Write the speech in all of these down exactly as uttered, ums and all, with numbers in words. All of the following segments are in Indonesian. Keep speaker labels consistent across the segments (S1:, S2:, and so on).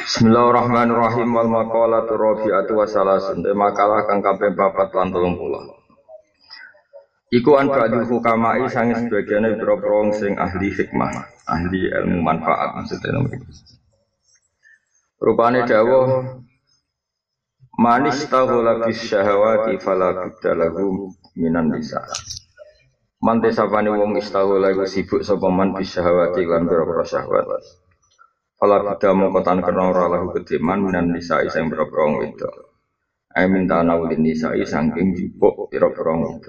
S1: Bismillahirrahmanirrahim wal maqalatu rabi'atu wa salasun. Makalah kang kaping papat lan telung puluh. Iku an ba'dul hukamai sange sebagiane boro-boro sing ahli hikmah, ahli ilmu manfaat maksudnya nomor iki. Rupane dawuh manis taghala bis syahawati fala buddalahu minan nisa. Mante sapane wong istaghala iku sibuk sapa man bis syahawati lan boro-boro syahwat. Fala bida mongkotan kena ora lahu kediman minan nisa sing boro-boro wedok. Ai minta nawulin nisa saking jupuk boro-boro wedok.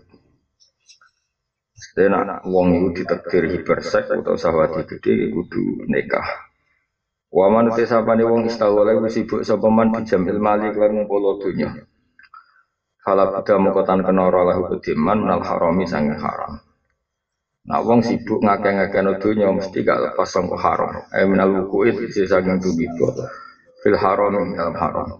S1: Dene wong iku ditakdir hipersek utawa syahwat gede kudu nikah. Wa manute sapane wong istaghala iku sibuk sapa man bijamil mali lan ngumpul donya. Fala bida mongkotan kena ora lahu kediman minal harami sange haram. Nah wong sibuk ngakeh-ngakehno donya mesti gak lepas sangko haram. Ai minal wukuit isi saking tubibo fil haram dalam haram.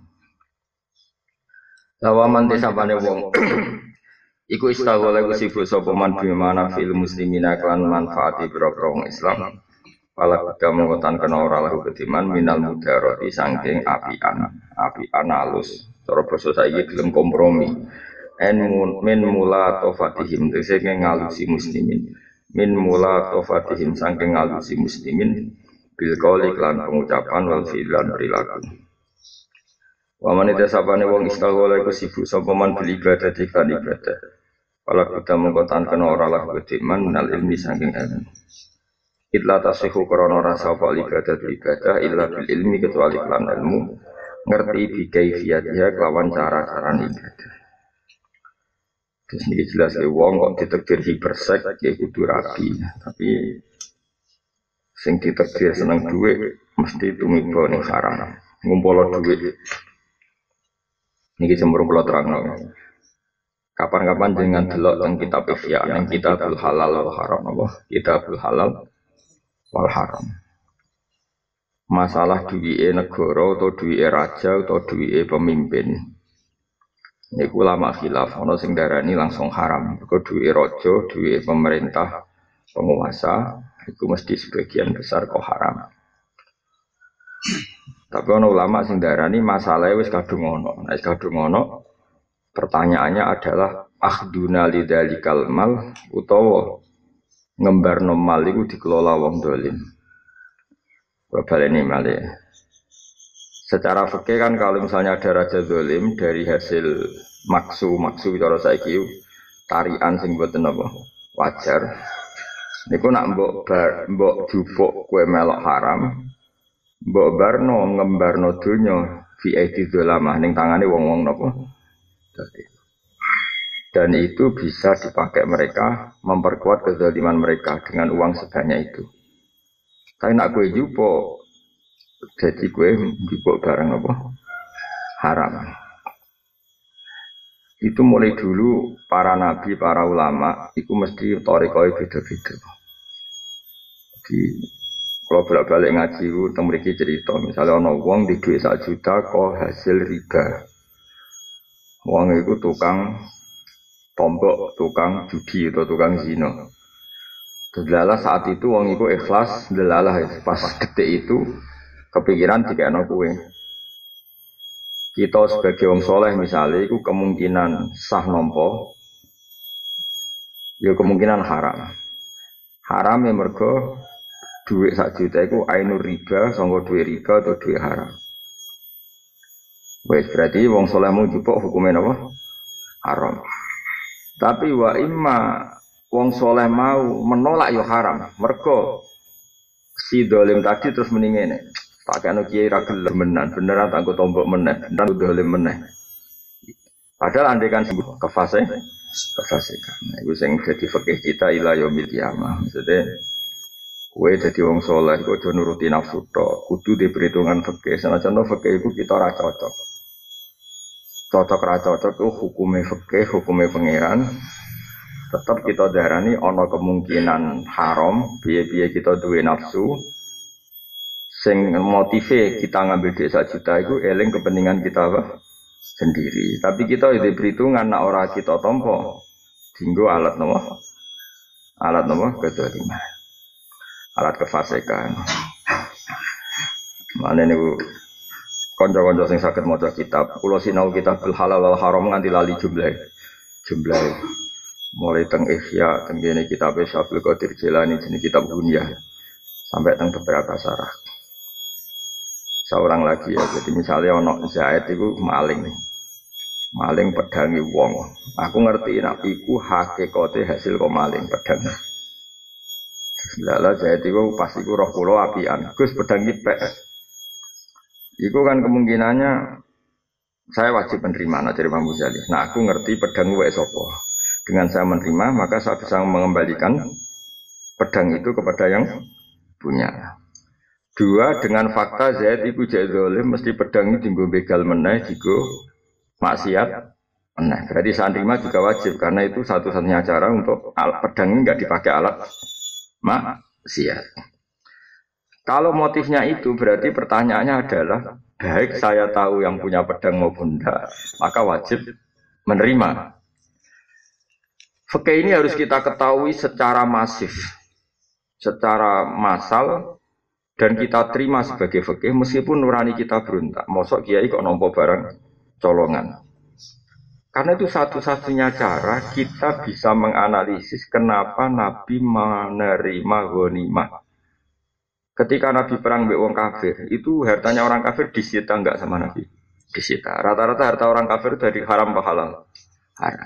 S1: Lawaman desapane wong iku istaghala iku sibuk sapa man bimana fil muslimina klan manfaati boro-boro wong Islam. Pala kuda mengkotan kena ora lahu kediman minal mudarati saking apian, apian alus. Cara basa saiki gelem kompromi. En min mula tofatihim tegese ngalusi muslimin. Min mula tofatihim saking ngalusi muslimin bil qauli lan pengucapan wal fi'lan perilaku. Wa man desapane wong istaghala iku sibuk sapa man bil ibadah diklan ibadah. Pala kuda mengkotan kena ora lahu kediman minal ilmi saking ilmu. Illa tasihu krana rasa apa ibadah ibadah illa bil ilmi kecuali lan ilmu ngerti bi kaifiyatiha kelawan cara-cara ibadah. Terus ini jelas ya wong kok ditakdir hipersek ya kudu rapi, tapi sing ditakdir seneng duit mesti tumiba ning haram. Ngumpul duit. Niki cemurung kula terangno. Kapan-kapan dengan delok teng kitab Ihya, nang kitabul halal wal haram apa? Kitabul halal wal haram. Masalah duwike negara atau duwike raja atau duwike pemimpin. Niku ulama khilaf ana sing darani langsung haram. Mergo duwike raja, duwike pemerintah, penguasa iku mesti sebagian besar kok haram. Tapi ana ulama sing darani masalahe wis kadung ana. Nek wis kadung ana pertanyaannya adalah akhduna lidzalikal mal utawa ngembarno mal iku dikelola wong dolim. Babalene malih. Secara fikih kan kalau misalnya ada raja dolim dari hasil maksu maksu cara saiki tarian sing mboten apa wajar. Niku nak mbok bar, mbok jupuk kowe melok haram, mbok barno ngembarno donya fi aidi dolamah ning tangane wong-wong napa. Dan itu bisa dipakai mereka memperkuat kezaliman mereka dengan uang sebanyak itu. Tapi nak kowe jupuk jadi gue jupuk barang apa? Haram. Itu mulai dulu para nabi, para ulama itu mesti thariqah beda-beda. Jadi kalau bolak-balik ngaji itu temriki cerita, misalnya ana wong di duit sak juta kok hasil riba. Wong itu tukang tombok, tukang judi atau tukang zina. Delalah saat itu wong itu ikhlas, delalah pas detik itu kepikiran dikekno kuwe. Kita sebagai wong soleh misalnya itu kemungkinan sah nampa ya kemungkinan haram. Haram ya mergo duit sak juta iku ainur riba, sanggo duit riba atau duit haram. Wes berarti wong soleh mau jupuk hukumnya apa? Haram. Tapi wa imma wong soleh mau menolak ya haram. Mergo si dolim tadi terus meningene. Pakai anu kiai ra gelem menan, beneran tak tombok meneh, beneran dolim meneh. Padahal andai kan sembuh kefase, kefasikan. Nah, iku sing dadi fikih kita ila yaumil qiyamah. Maksudnya kowe dadi wong saleh kok aja nuruti nafsu tok, kudu diperhitungan fikih. Senajan fikih iku kita ora cocok. Cocok ra cocok itu hukume fikih, hukume pangeran. Tetap kita darani ana kemungkinan haram, biye-biye kita duwe nafsu. Sing motive kita ngambil duit sak juta itu eling kepentingan kita apa? Sendiri. Tapi kita itu perhitungan nak ora kita tompo. Dinggo alat nopo? Alat nopo? Kedoliman. Alat kefasikan. Mana niku kanca-kanca sing saged maca kitab, kula sinau kitabul halal wal haram nganti lali jumlah. Jumlah mulai teng Ihya, teng kene kitab Syaikhul Qadir Jilani jenenge kitab Gunyah sampai teng beberapa syarah. Seorang lagi ya, jadi misalnya ono Zaid itu maling. Maling pedangi wong. Aku ngerti nek iku hakikate hasil kok maling pedang. Lala Zaid itu pas iku roh kula apian. Gus pedang iki pek. Iku kan kemungkinannya saya wajib menerima nah dari Imam Ghazali. Nah aku ngerti pedang wae sapa. Dengan saya menerima maka saya bisa mengembalikan pedang itu kepada yang punya. Dua, dengan fakta Zaid iku jek zalim mesti pedang itu dienggo begal meneh digo maksiat meneh. Berarti saya terima juga wajib karena itu satu-satunya cara untuk alat pedang ini enggak dipakai alat maksiat. Kalau motifnya itu berarti pertanyaannya adalah baik saya tahu yang punya pedang maupun tidak, maka wajib menerima. Fikih ini harus kita ketahui secara masif, secara massal dan kita terima sebagai fikih meskipun nurani kita berontak. Mosok kiai kok nampa barang colongan. Karena itu satu-satunya cara kita bisa menganalisis kenapa Nabi menerima ghanimah. Ketika Nabi perang mbek wong kafir, itu hartanya orang kafir disita enggak sama Nabi? Disita. Rata-rata harta orang kafir dari haram ke halal. Haram.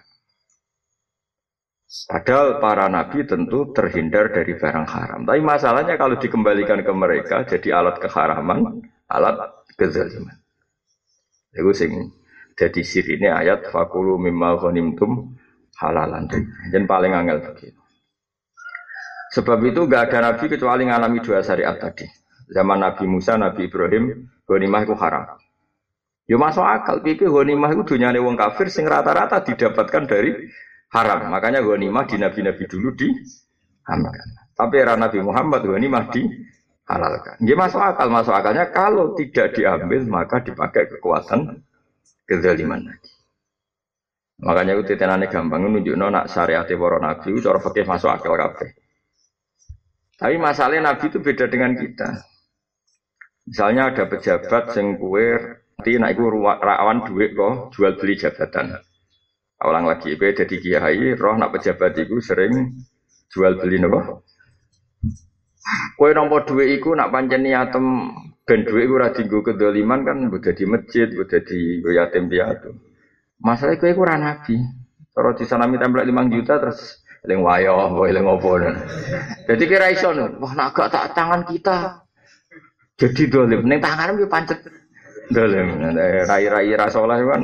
S1: Padahal para nabi tentu terhindar dari barang haram. Tapi masalahnya kalau dikembalikan ke mereka jadi alat keharaman, alat kezaliman. Itu sing jadi sirine ayat fakulu mimma ghanimtum halalan. Jen paling angel begitu. Sebab itu enggak ada nabi kecuali ngalami dua syariat tadi. Zaman Nabi Musa, Nabi Ibrahim, ghanimah itu haram. Ya masuk akal, pikir ghanimah itu dunyane wong kafir sing rata-rata didapatkan dari haram. Makanya ghanimah di nabi-nabi dulu diharamkan. Tapi era Nabi Muhammad ghanimah dihalalkan. Nggih masuk akal, masuk akalnya kalau tidak diambil maka dipakai kekuatan kezaliman lagi. Makanya itu tenane gampang nunjukno nak syariat para nabi cara fikih masuk akal kabeh. Tapi masalahnya Nabi itu beda dengan kita. Misalnya ada pejabat sing kuwe nanti nek iku rawan duit kok jual beli jabatan. Ulang lagi kowe dadi kiai, roh nak pejabat iku sering jual beli napa? Kowe nampa duit iku nak pancen niatem ben duit iku ora dienggo kedzaliman kan mbok dadi masjid, mbok dadi yatim piatu. Masalah kowe iku ora nabi. Cara disanami template lima juta terus eling wayo, mbok eling opo. Jadi kira iso wah nak gak tak tangan kita. Jadi dolim ning tangan yo pancet dolim. Rai-rai rasolah kan.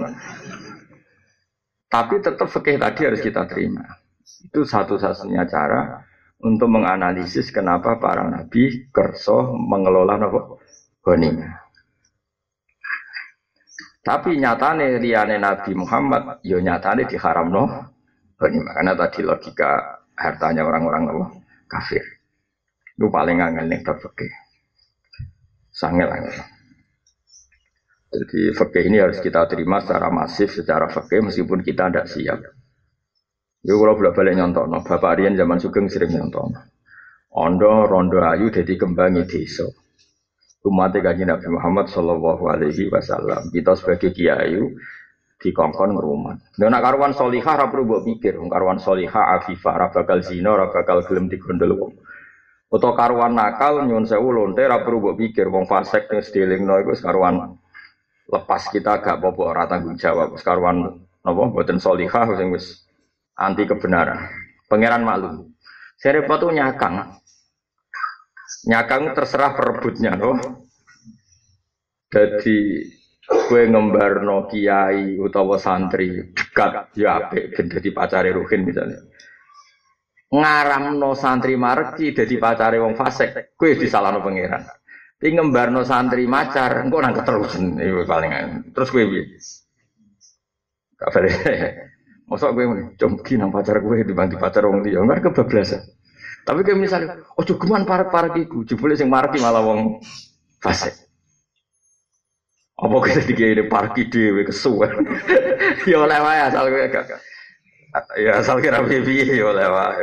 S1: Tapi tetap fikih tadi harus kita terima. Itu satu-satunya cara untuk menganalisis kenapa para nabi kerso mengelola napa ghanimah. Tapi nyatane liyane Nabi Muhammad yo nyatane diharamno ghanimah karena tadi logika hartanya orang-orang apa kafir. Itu paling angel ning fikih. Sangel-angel. Jadi fikih ini harus kita terima secara masif, secara fikih meskipun kita tidak siap. Yo kalau bolak-balik nyontokno, Bapak Rian zaman Sugeng sering nyontokno. Ondo rondo ayu dadi kembangi desa. Umat Kanjeng Nabi Muhammad sallallahu alaihi wasallam. Kita sebagai kiai dikongkon ngrumat. Nek nak karuan salihah ora perlu mbok pikir, karuan salihah afifah ora bakal zina, ora bakal gelem digondol wong. Utawa karuan nakal nyuwun sewu lonte ora perlu mbok pikir, wong fasik sing sedelingno iku karuan lepas kita gak apa-apa ora tanggung jawab. Karuan napa mboten salihah sing wis anti kebenaran. Pangeran maklum. Serepot tuh nyakang. Nyakang terserah perebutnya loh. Jadi kowe ngembarno kiai utawa santri dekat ya apik ben dadi pacare ruhin misalnya. Ngaramno santri mareki dadi pacare wong fasik, kowe disalahno pangeran. Tapi ngembarno santri macar engko nang keterusan iku paling. Terus kowe piye? Kabare. Mosok kowe jomki nang pacar kowe dibanding pacar wong liya, enggak kebablasan. Tapi kayak misalnya, ojo geman parek-parek iku, jebule sing mareki malah wong fasik. Apa kita dikene parki dhewe kesuwen. Ya oleh wae asal kowe gak. Ya asal kira piye ya oleh wae.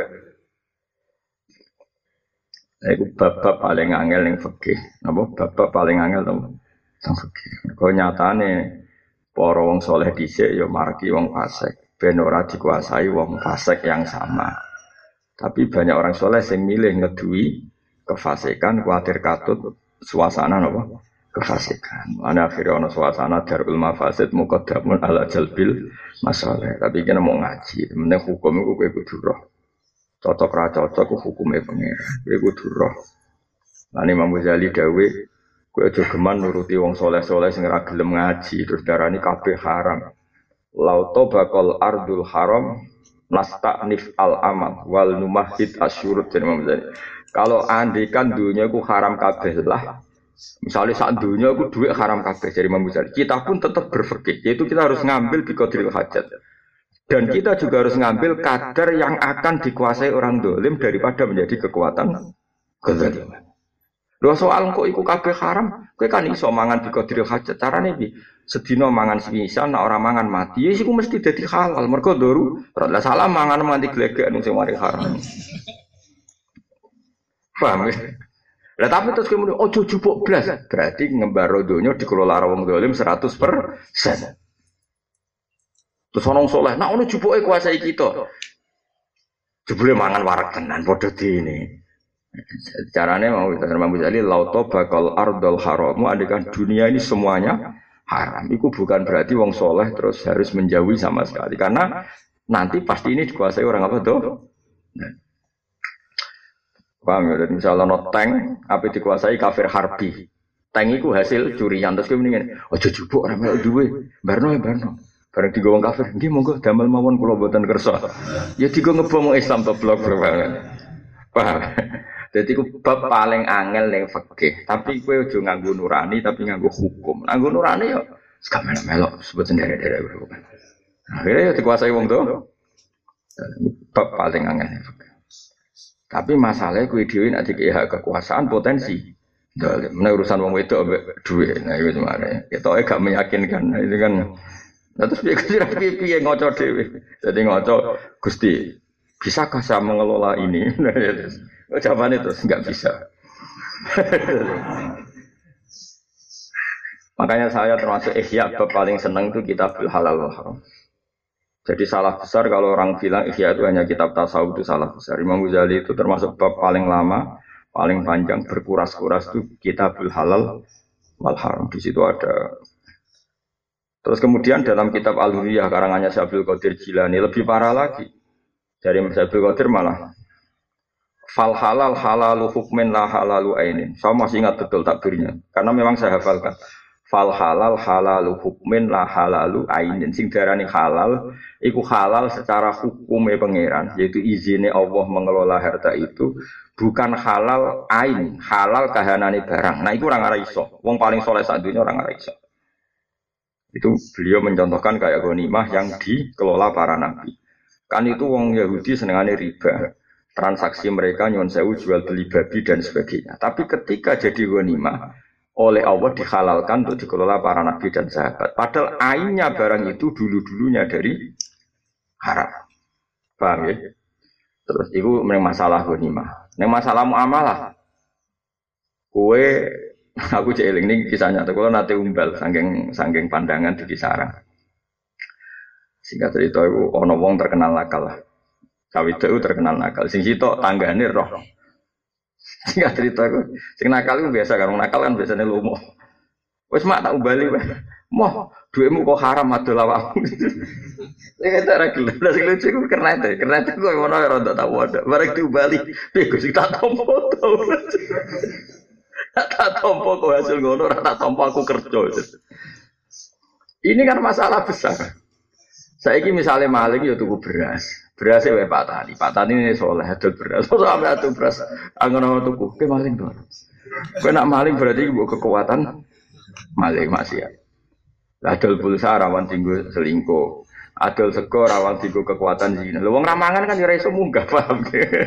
S1: Iku bab paling angel ning fikih. Napa bab paling angel to? Teng fikih. Kok nyatane para wong saleh dhisik ya margi wong fasik, ben ora dikuasai wong fasik yang sama. Tapi banyak orang saleh sing milih ngedui kefasikan, kuatir katut suasana napa? Kefasikan. Ana akhire ana suasana darul mafasid muqaddamun ala jalbil masalih. Tapi kena mau ngaji, meneh hukum iku kowe kudu roh. Cocok ra cocok ku hukume pangeran. Kowe kudu roh. Lan Imam Ghazali dawuh, kowe aja geman nuruti wong saleh-saleh sing ora gelem ngaji, terus darani kabeh haram. Lauto bakal ardul haram nasta'nif al amal wal numahid asyurut dari Imam Ghazali. Kalau andikan dunia ku haram kabeh lah. Misalnya saat dunia aku duit haram kabeh dari Imam Ghazali. Kita pun tetap berfikir, yaitu kita harus ngambil biqadril hajat. Dan kita juga harus ngambil kadar yang akan dikuasai orang dolim daripada menjadi kekuatan kezaliman. Dua soal kok iku kabeh haram, kowe kan iso mangan biqadril hajat. Carane piye? Sedina mangan semisal, nek ora mangan mati, ya iku mesti dadi halal. Mergo doru, ora salah mangan mati glegek sing mari haram. Paham ya? Lah tapi terus kemudian ojo jupuk blas, berarti ngembaro donya dikelola wong zalim seratus persen. Terus ono saleh, nek ono jupuke kuasai kita. Jebule mangan warak tenan padha dene. Carane mau Imam Ghazali lauto bakal ardul haramu andekan dunia ini semuanya haram. Iku bukan berarti wong saleh terus harus menjauhi sama sekali karena nanti pasti ini dikuasai orang apa tuh? Paham ya, misalnya no tank, apa dikuasai kafir harbi. Tank itu hasil curian, terus kemudian, oh jujubuk orang melok duwe, barno ya barno. Barang tiga orang kafir, dia monggo damel mawon kula boten kersa. Ya tiga ngebom Islam to blok banget. Paham? Jadi ku bab paling angel ning fikih, tapi kowe aja nganggo nurani tapi nganggo hukum. Nganggo nurani ya sak melok sebut sendiri-sendiri bukan. Akhirnya ya dikuasai wong to. Bab paling angel ning fikih. Tapi masalahnya kue dewi nak dikei hak kekuasaan potensi. Mana urusan wong wedok ambek duit. Nah itu sebenarnya. Kita gak meyakinkan. Nah, itu kan. Nah, terus piye kira piye ngoco dewi. Jadi ngoco Gusti, bisakah saya mengelola ini? Nah, ya, jawabannya terus nggak bisa. Makanya saya termasuk ihya bab paling seneng itu kitabul halal wal haram. Jadi salah besar kalau orang bilang ihya itu hanya kitab tasawuf itu salah besar. Imam Ghazali itu termasuk bab paling lama, paling panjang berkuras-kuras itu kitabul halal wal haram. Di situ ada. Terus kemudian dalam kitab Al-Hurriyah karangannya Syekh Abdul Qadir Jilani lebih parah lagi. Dari Syekh Abdul Qadir malah fal halal halalu hukmin la halalu ainin. Saya masih ingat betul takbirnya karena memang saya hafalkan. Fal halal halalu hukmin la halalu ainin. Sing darani halal iku halal secara hukumnya pangeran, yaitu izinnya Allah mengelola harta itu bukan halal ain, halal kahanane barang. Nah itu orang ora iso. Wong paling soleh sak dunya orang ora iso. Itu beliau mencontohkan kayak ghanimah yang dikelola para nabi. Kan itu wong Yahudi senengane riba. Transaksi mereka nyuwun sewu jual beli babi dan sebagainya. Tapi ketika jadi ghanimah oleh Allah dihalalkan untuk dikelola para nabi dan sahabat. Padahal ainnya barang itu dulu-dulunya dari haram. Paham ya? Terus itu masalah ghanimah. Nek masalah muamalah. Kue aku cek eling ini kisahnya tuh kalau nate umbal sanggeng sanggeng pandangan di Kisarang. Singkat cerita itu ono wong terkenal nakal lah. Kawit itu terkenal nakal. Sing sitok tanggane roh. Singkat cerita aku, sing nakal itu biasa kan, nakal kan biasanya lomo. Wes mak tak ubali, moh duitmu kok haram adol awakmu. Saya kata ra gelem, lha sing lucu ku kernet, kernet ku ngono ora ndak tahu ada. Bareng diubali, piye Gus tak tompo to. Tak tompo kok hasil ngono ora tak tompo aku kerja. Ini kan masalah besar. Saiki misalnya maling ya tuku beras. Berasnya wae Pak Tani, Pak Tani ini soleh adol beras. Masa sampe adol beras angon-angon tuku, ke maling to. Kowe nak maling berarti mbok kekuatan maling maksiat. Adol pulsa rawan tinggu selingkuh. Adol sego rawan tinggu kekuatan zina. Lho wong ramangan kan ya ora iso munggah, paham.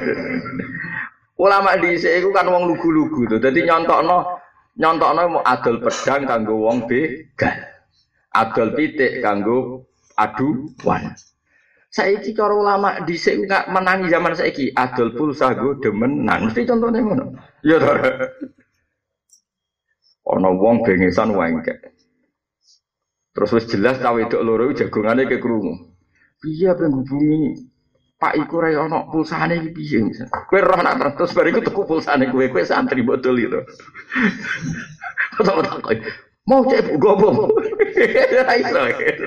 S1: Ulama dhisik iku kan wong lugu-lugu to. Dadi nyontokno nyontokno mau adol pedang kanggo wong begal. Adol pitik kanggo aduan. Saiki cara ulama dhisik enggak menangi zaman saiki adol pulsa go demenan. Mesti contohnya ngono. Ya to. ana wong bengesan wengkek. Terus wis jelas ta wedok loro jagongane ke krungu. Piye apa ngubungi Pak iku ra ono pulsane iki piye? Kowe roh nak terus bariku tuku pulsane kowe kowe santri botol itu. Kok mau cek gobo. Ra iso.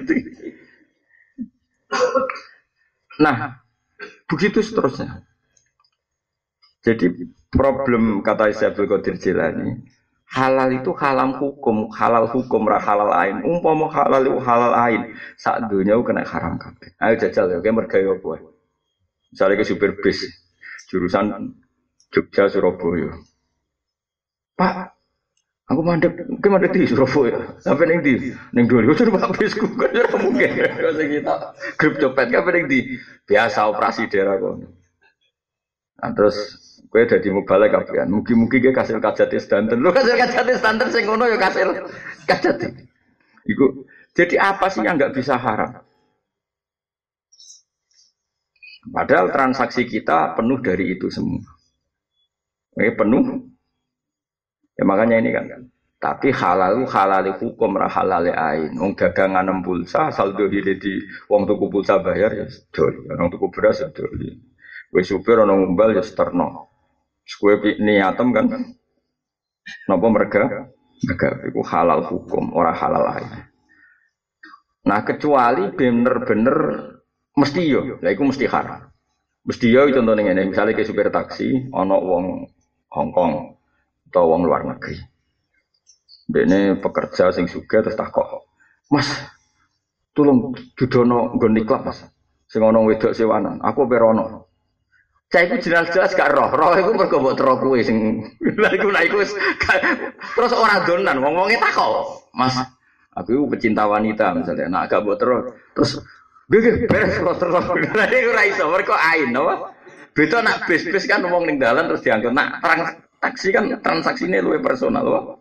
S1: Nah, begitu seterusnya. Jadi problem kata Syaikhul Qadir Jilani, halal itu halal hukum, halal hukum ra halal ain. Umpama halal itu halal ain, sak donya kena haram kabeh. Ayo jajal ya, kowe mergawe apa? Misalnya ke supir bis jurusan Jogja Surabaya. Pak, aku mandek, kowe mandek di Surabaya. Sampai ning ndi? Ning Doli. Wis numpak bisku kan ya mungkin. Kok sing kita grup copet kabeh ning ndi? Biasa operasi daerah kono. Nah, terus kowe dadi mubalek kabehan. Mugi-mugi kowe kasil kajate standar. Lho kasil kajate standar sing ngono ya kasil kajate. Iku jadi apa sih yang enggak bisa haram? Padahal transaksi kita penuh dari itu semua. Eh penuh. Ya makanya ini kan. Tapi halal halal hukum ra halal ain. Wong dagangan pulsa saldo hile di wong tuku pulsa bayar ya dol. Wong tuku beras ya dol. Wis supir ana ngumbal ya sterno. Kowe niatem kan. Napa merga? Merga iku halal hukum, ora halal ain. Nah kecuali bener-bener mesti yo, lha iku mesti haram. Mesti yo contohnya ngene, misale ke supir taksi ana wong Hong Kong atau wong luar negeri. Dene pekerja sing sugih terus takok, "Mas, tolong dudono nggon niklap, Mas. Sing ana wedok sewanan, aku perono." Cah iku jelas-jelas gak roh, roh iku mergo mbok tero kuwe sing lha iku lha iku terus ora donan, wong-wonge takok, "Mas, aku iku pecinta wanita misalnya, nak gak mbok tero." Terus Gege beres terus terus. Lah iku ora iso mergo ain apa? Beda nak bis-bis kan wong ning dalan terus diangkut. Nak taksi kan transaksine luwih personal apa?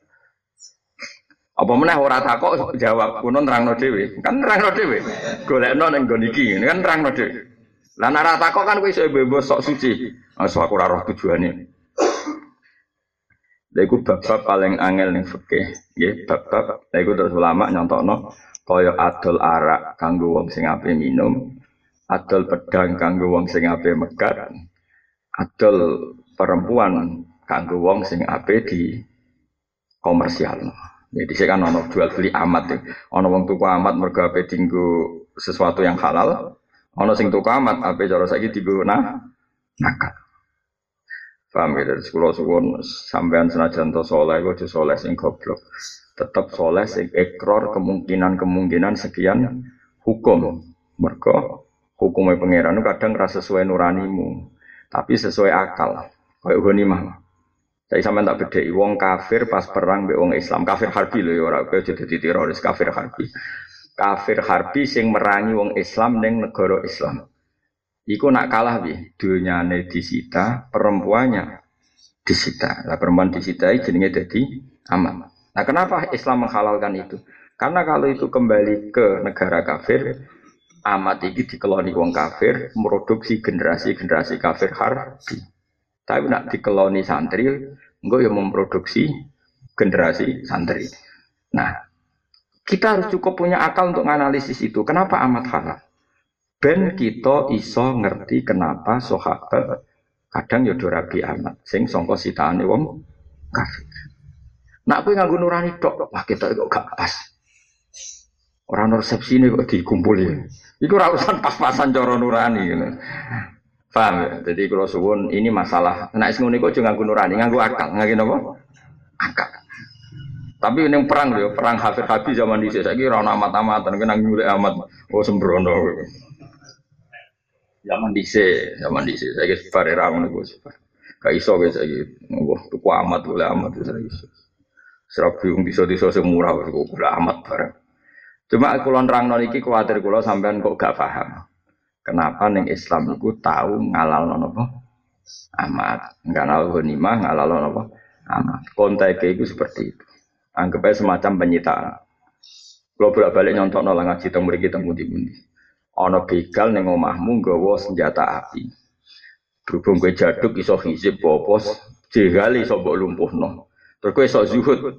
S1: Apa meneh ora takok jawab kuno nerangno dhewe. Kan nerangno dhewe. Golekno ning nggon iki kan nerangno dhewe. Lah nek ora takok kan kowe iso bebas sok suci. Asal aku ora roh tujuane. Lha iku bab-bab paling angel ning fikih, nggih, bab-bab. Lha iku terus ulama nyontokno kaya adol arak kanggo wong sing ape minum, adol pedang kanggo wong sing ape megat, adol perempuan kanggo wong sing ape di komersial. Jadi saya kan ono jual beli amat, ono wong tuku amat mergo ape dinggo sesuatu yang halal, ono sing tuku amat ape cara saiki dinggo nah nakal. Paham ya, dari sekolah suwun sampean senajan to saleh aja saleh sing goblok. Tetap soleh sing ekor kemungkinan-kemungkinan sekian hukum. Mergo hukumnya pangeran kadang rasa sesuai nuranimu, tapi sesuai akal. Kayak ghanimah. Saya sampean tak bedheki wong kafir pas perang mbek wong Islam, kafir harbi lho ya ora kowe aja dadi teroris kafir harbi. Kafir harbi sing merangi wong Islam ning negara Islam. Iku nak kalah piye? Dunyane disita, perempuannya disita. Lah perempuan disita jenenge dadi aman. Nah kenapa Islam menghalalkan itu? Karena kalau itu kembali ke negara kafir, amat ini dikeloni wong kafir, produksi generasi-generasi kafir harbi. Tapi nak dikeloni santri, enggak yang memproduksi generasi santri. Nah, kita harus cukup punya akal untuk menganalisis itu. Kenapa amat halal? Ben kita iso ngerti kenapa sahabat kadang ya do rabi amat sing sangka sitaane wong kafir. Nak kowe nganggo nurani tok, wah kita kok gak pas. Ora ono resepsine kok dikumpuli. Iku ora urusan pas-pasan cara nurani ngono. Paham ya? Jadi kalau suwun ini masalah. Nek sing ngene iku aja nganggo nurani, nganggo akal. Nganggo napa? Akal. Tapi ning perang lho, perang Hafir Habib zaman dhisik saiki ora ono amat-amatan, kena nyulek amat. Oh sembrono. Zaman dhisik, zaman dhisik saiki bare ra ngono iku. Gak iso wis saiki. Wah, tuku amat oleh amat wis ra iso. Serabi wong desa-desa sing murah kok kula amat bareng. Cuma kula nerangno iki kuwatir kula sampean kok gak paham. Kenapa ning Islam iku tahu ngalalno napa? Amat. Ngalal ghanimah, ngalalno napa? Amat. Konteke iku seperti itu. Anggap aja semacam penyitaan. Kula bolak-balik nyontokno lah ngaji teng mriki teng pundi-pundi. Ana begal ning omahmu nggawa senjata api. Berhubung kowe jaduk iso hizib apa, jegal iso mbok lumpuhno. Terus kowe iso zuhud,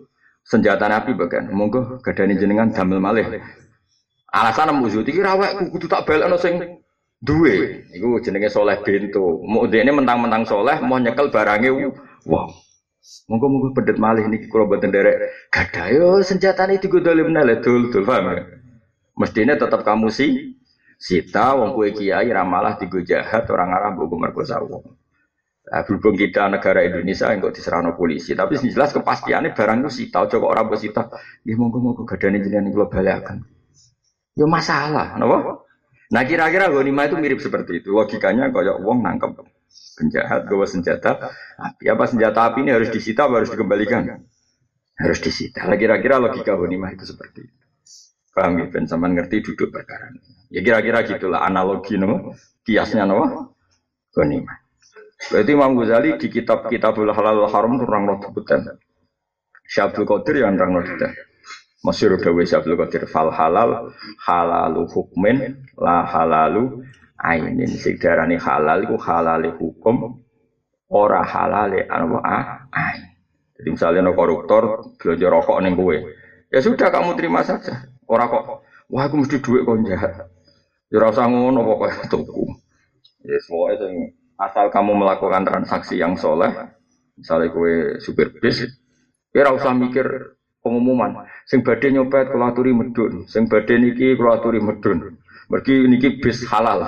S1: senjata Nabi bagian. Monggo gadani jenengan damel malih. Alasan muzut iki rawek kudu tak balekno sing duwe. Iku jenenge Soleh Bento. Mau dene mentang-mentang soleh mau nyekel barange wow. Monggo-monggo pedet malih niki kula mboten nderek gadah yo senjatane digodolemna le dul-dul paham ya. Mestine tetap kamu sih sita wong kowe kiai ra malah digo jahat orang arah mbok merkosa wong. Nah, berhubung kita negara Indonesia yang kok diserahno polisi, tapi jelas kepastiannya barang itu sita, aja kok ora mbok sita. Nggih monggo-monggo gadane jenengan kula balaken. Yo masalah, napa? Nah kira-kira ghanimah itu mirip seperti itu. Logikanya kayak wong nangkep penjahat gawa senjata api. Apa senjata api ini harus disita atau harus dikembalikan? Harus disita. Nah, kira-kira logika ghanimah itu seperti itu. Paham ya? Ben sampean ngerti duduk perkara ini. Ya kira-kira gitulah analogi no, kiasnya no ghanimah. Berarti Imam Ghazali di kitab Kitabul Halal wal Haram kurang roh debutan. Syabdul Qadir yang nerang roh debutan. Masyhur dawuh Syabdul Qadir fal halal halalu hukmin la halalu ainin. Sing darani halal iku halale hukum ora halale apa ain. Jadi misalnya no koruptor belanja rokok ning kowe. Ya sudah kamu terima saja. Ora kok wah aku mesti duit kok jahat. Ya ora usah ngono pokoke tuku. Ya semua sing asal kamu melakukan transaksi yang soleh, misalnya kue supir bis, kira usah mikir pengumuman. Sing badhe nyopet kula aturi medun, sing badhe niki kula aturi medun. Mergi niki bis halal.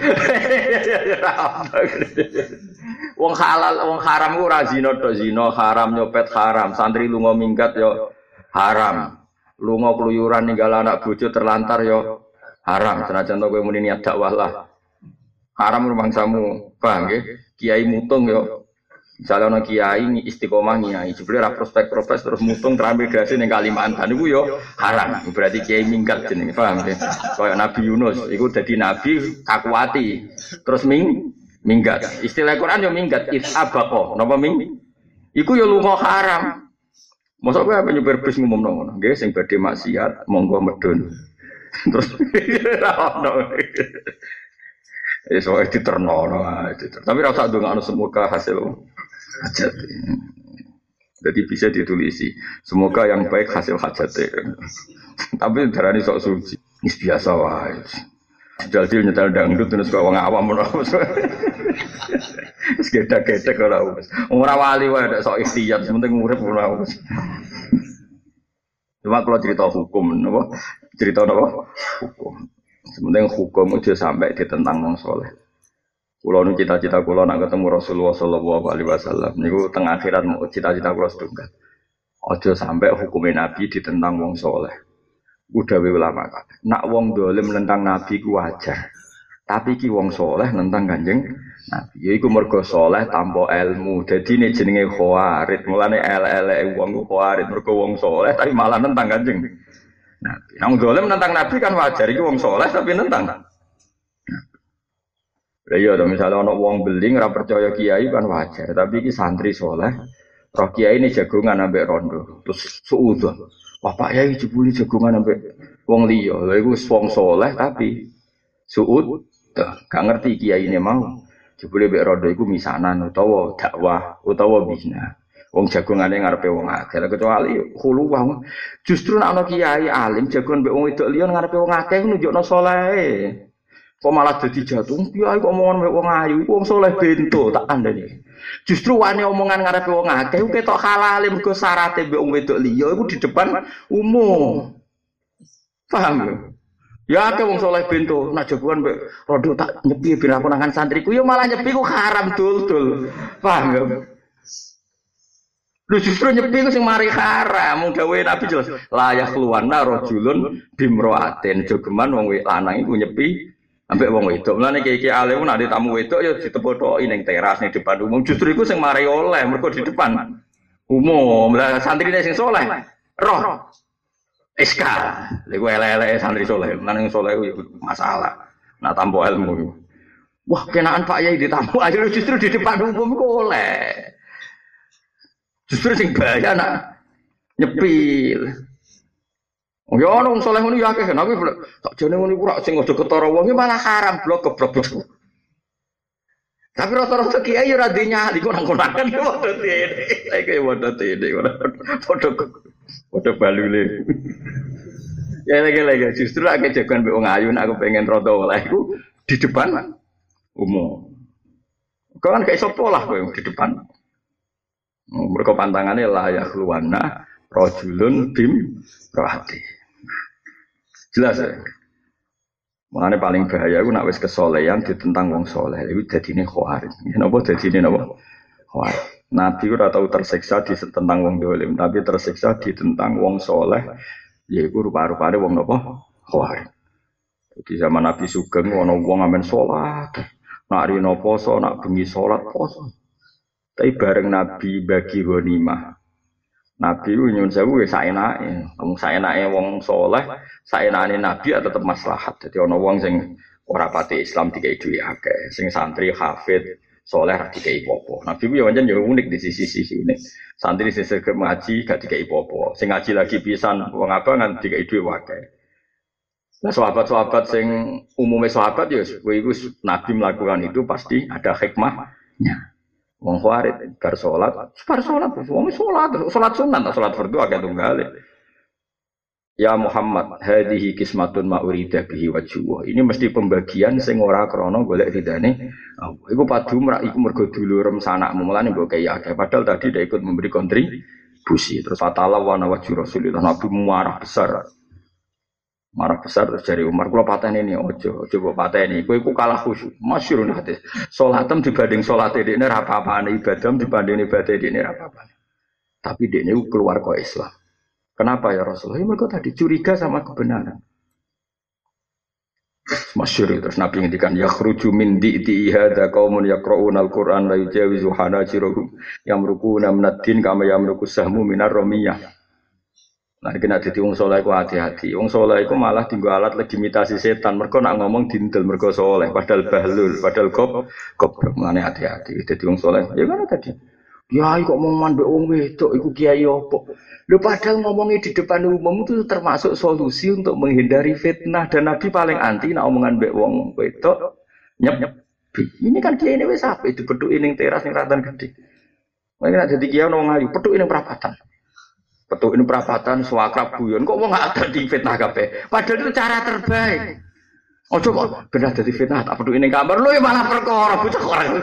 S1: Wong halal, wong haram ku ora zina to zina, haram nyopet haram, santri lunga minggat yo haram. Lunga keluyuran ninggal anak bojo terlantar yo haram. Senajan to kowe muni niat dakwah lah. Haram rumangsamu, paham nggih? Kiai mutung yo. Misalnya ana kiai istiqomah kiai, jebule ra prospek-prospek terus mutung transmigrasi ning Kalimantan niku yo haram. Berarti kiai minggat jenenge, paham nggih? Kaya Nabi Yunus, iku dadi nabi kakuati. Terus ming minggat. Istilah Quran yo minggat, isabaqa. Napa ming? Iku yo lunga haram. Mosok kowe apa nyupir bis ngumumno ngono? Nggih, sing badhe maksiat monggo medun. Terus ra ono. Eh soal itu ternono, tapi rasa dengan anu semoga hasil hajat. Jadi bisa ditulisi, semoga yang baik hasil hajat. Tapi darani sok suci, ini biasa wae. Jadi nyetel dangdut terus kau ngawam menurut. Segede-gede kalau orang wali wae ada sok ikhtiar, sementing urip menurut. Cuma kalau cerita hukum, apa? Cerita apa? Hukum. Sementing hukum itu sampai ditentang wong soleh. Kulo nu cita-cita kulo nak ketemu Rasulullah Sallallahu Alaihi Wasallam. Niku teng akhirat mau cita-cita kulo setunggal. Ojo sampai hukumnya Nabi ditentang wong soleh. Udah ulama kata. Nak wong dolim nentang Nabi ku wajar. Tapi ki wong soleh nentang kanjeng Nabi. Yaiku mergo soleh tanpa ilmu. Jadi ini jenenge khawarid. Mulane ele-ele wong ku khawarid mergo wong soleh tapi malah nentang kanjeng Nabi. Nang dolim nentang Nabi kan wajar iki wong soleh tapi nentang. Lah iya to misale ana wong beling ora percaya kiai kan wajar, tapi iki santri soleh. Roh kiai ini jagongan ambek rondo. Terus suudzon. Wah Pak Yai jebuli jagongan ambek wong liya. Lha iku wong soleh tapi suud gak ngerti kiai ini mau. Jebule mbek rondo iku misanan utawa dakwah utawa bina. Wong jagongane ngarepe wong akeh kecuali khulu wong justru nek ana kiai alim jagongan mbek wong wedok liya ngarepe wong akeh nunjukno saleh kok malah dadi jatuh kiai kok omongan mbek wong ayu iku wong saleh bento tak kandhani justru wani omongan ngarepe wong akeh ku ketok halal mergo syaraté mbek wong wedok liya iku di depan umum paham ya ya akeh wong saleh bento nek jagongan mbek rondo tak nyepi ben aku nangan santriku ya malah nyepi ku haram dul-dul paham ya. Lu justru nyepi ku sing mari haram, mung dawuhe Nabi jelas. Layak luwana rajulun bimroatin, jogeman wong lanang iku nyepi ambek wong wedok. Mulane iki alim nek tamu wedok ya ditepothoki ning teras ning depan umum. Justru iku sing mari oleh mergo di depan umum. Lah santrine sing saleh roh S K. Lha iku elek-eleke santri saleh. Nang saleh iku masalah. Nak tampa ilmu. Wah, kenaan Pak Yai ditamu ayo justru di depan umum iku oleh. Justru sing bahaya nak nyepil. Oh ya ono wong saleh ngono ya akeh kan aku tak jane ngono iku rak sing aja ketara wong iki malah haram blok geblok. Tapi rata-rata kiai ora dinyali kok nang konakan padha tene. Iki padha tene ora padha Padha balule. Ya lagi-lagi justru aku jagoan mbek wong ayu nek aku pengen rada oleh iku di depan umum. Kau kan kayak sopo lah kowe di depan. Mereka pantangannya la yakhluwana rajulun bim rohati. Jelas ya. Makanya paling bahaya aku nak wis kesolehan ditentang wong soleh. Itu dadine khawarij. Napa dadine napa? Khawarij. Nabi ora tau tersiksa ditentang wong dolim, tapi tersiksa ditentang wong soleh. Yaiku rupa-rupane wong napa? Khawarij. Jadi zaman Nabi Sugeng ana wong amen salat. Nak rino poso, nak bengi salat poso. Tapi bareng Nabi bagi ghanimah. Nabi ku nyuwun sewu wis saenake. Wong saenake wong saleh, saenane Nabi tetep maslahat. Dadi ana wong sing ora pati Islam dikai duwe akeh, sing santri hafid saleh ra dikai apa-apa. Nabi ku yo pancen yo unik di sisi-sisi ini. Santri sing segem ngaji gak dikai apa-apa. Sing ngaji lagi pisan wong abang kan dikai duwe akeh. Nah, sahabat-sahabat sing umumnya sahabat ya, itu Nabi melakukan itu pasti ada hikmahnya. Wong Khawarij bar salat, bar salat, wong salat, salat sunat, salat fardu agak tunggal. Ya Muhammad, hadhihi qismatun ma urida bihi wajhu. Ini mesti pembagian sing ora krana golek ridane. Iku padu mrak iku mergo dulurem sanakmu, mulane mbok kaya akeh. Padahal tadi dia ikut memberi kontribusi. Terus fatala wa wajhu Rasulullah Nabi marah besar. Marah besar terus dari Umar, kula pateni ini ojo, coba pateni. Kowe iku kalah khusyuk. Masyhur hadis. Salatem dibanding salate dekne ra apa-apane, ibadah dibanding ibadah dekne ra apa-apane. Tapi dekne keluar kok Islam. Kenapa ya Rasulullah? Ya mereka tadi curiga sama kebenaran. Masyhur terus Nabi ngendikan yakhruju min di'ti hadza qaumun yaqra'una al-Qur'an la yujawizu hanajirahum yamruquna minad-din kama yamruqu sahmu minar ramiyah. Nah, kena jadi wong soleh ku hati-hati. Wong soleh ku malah tinggu alat legitimasi setan. Mereka nak ngomong dindel mereka soleh. Padahal bahlul, padahal kop, kop. Mengenai hati-hati. Jadi wong soleh. Ya mana tadi? Ya, kok mau mandek wong wedok. Iku kiai opo. Lo padahal ngomongnya di depan umum itu termasuk solusi untuk menghindari fitnah. Dan Nabi paling anti nak omongan mbek wong wedok. Nyep nyep. Ini kan kiai ini wes apa? Itu peduk ini teras yang ratan gede. Mereka jadi kiai wong ayu. Peduk ini perapatan. Betul ini perapatan suakrab guyon kok mau nggak ada di fitnah kape padahal itu cara terbaik. Oh coba benar jadi fitnah tak perlu ini kabar lu ya malah perkara bocah orang.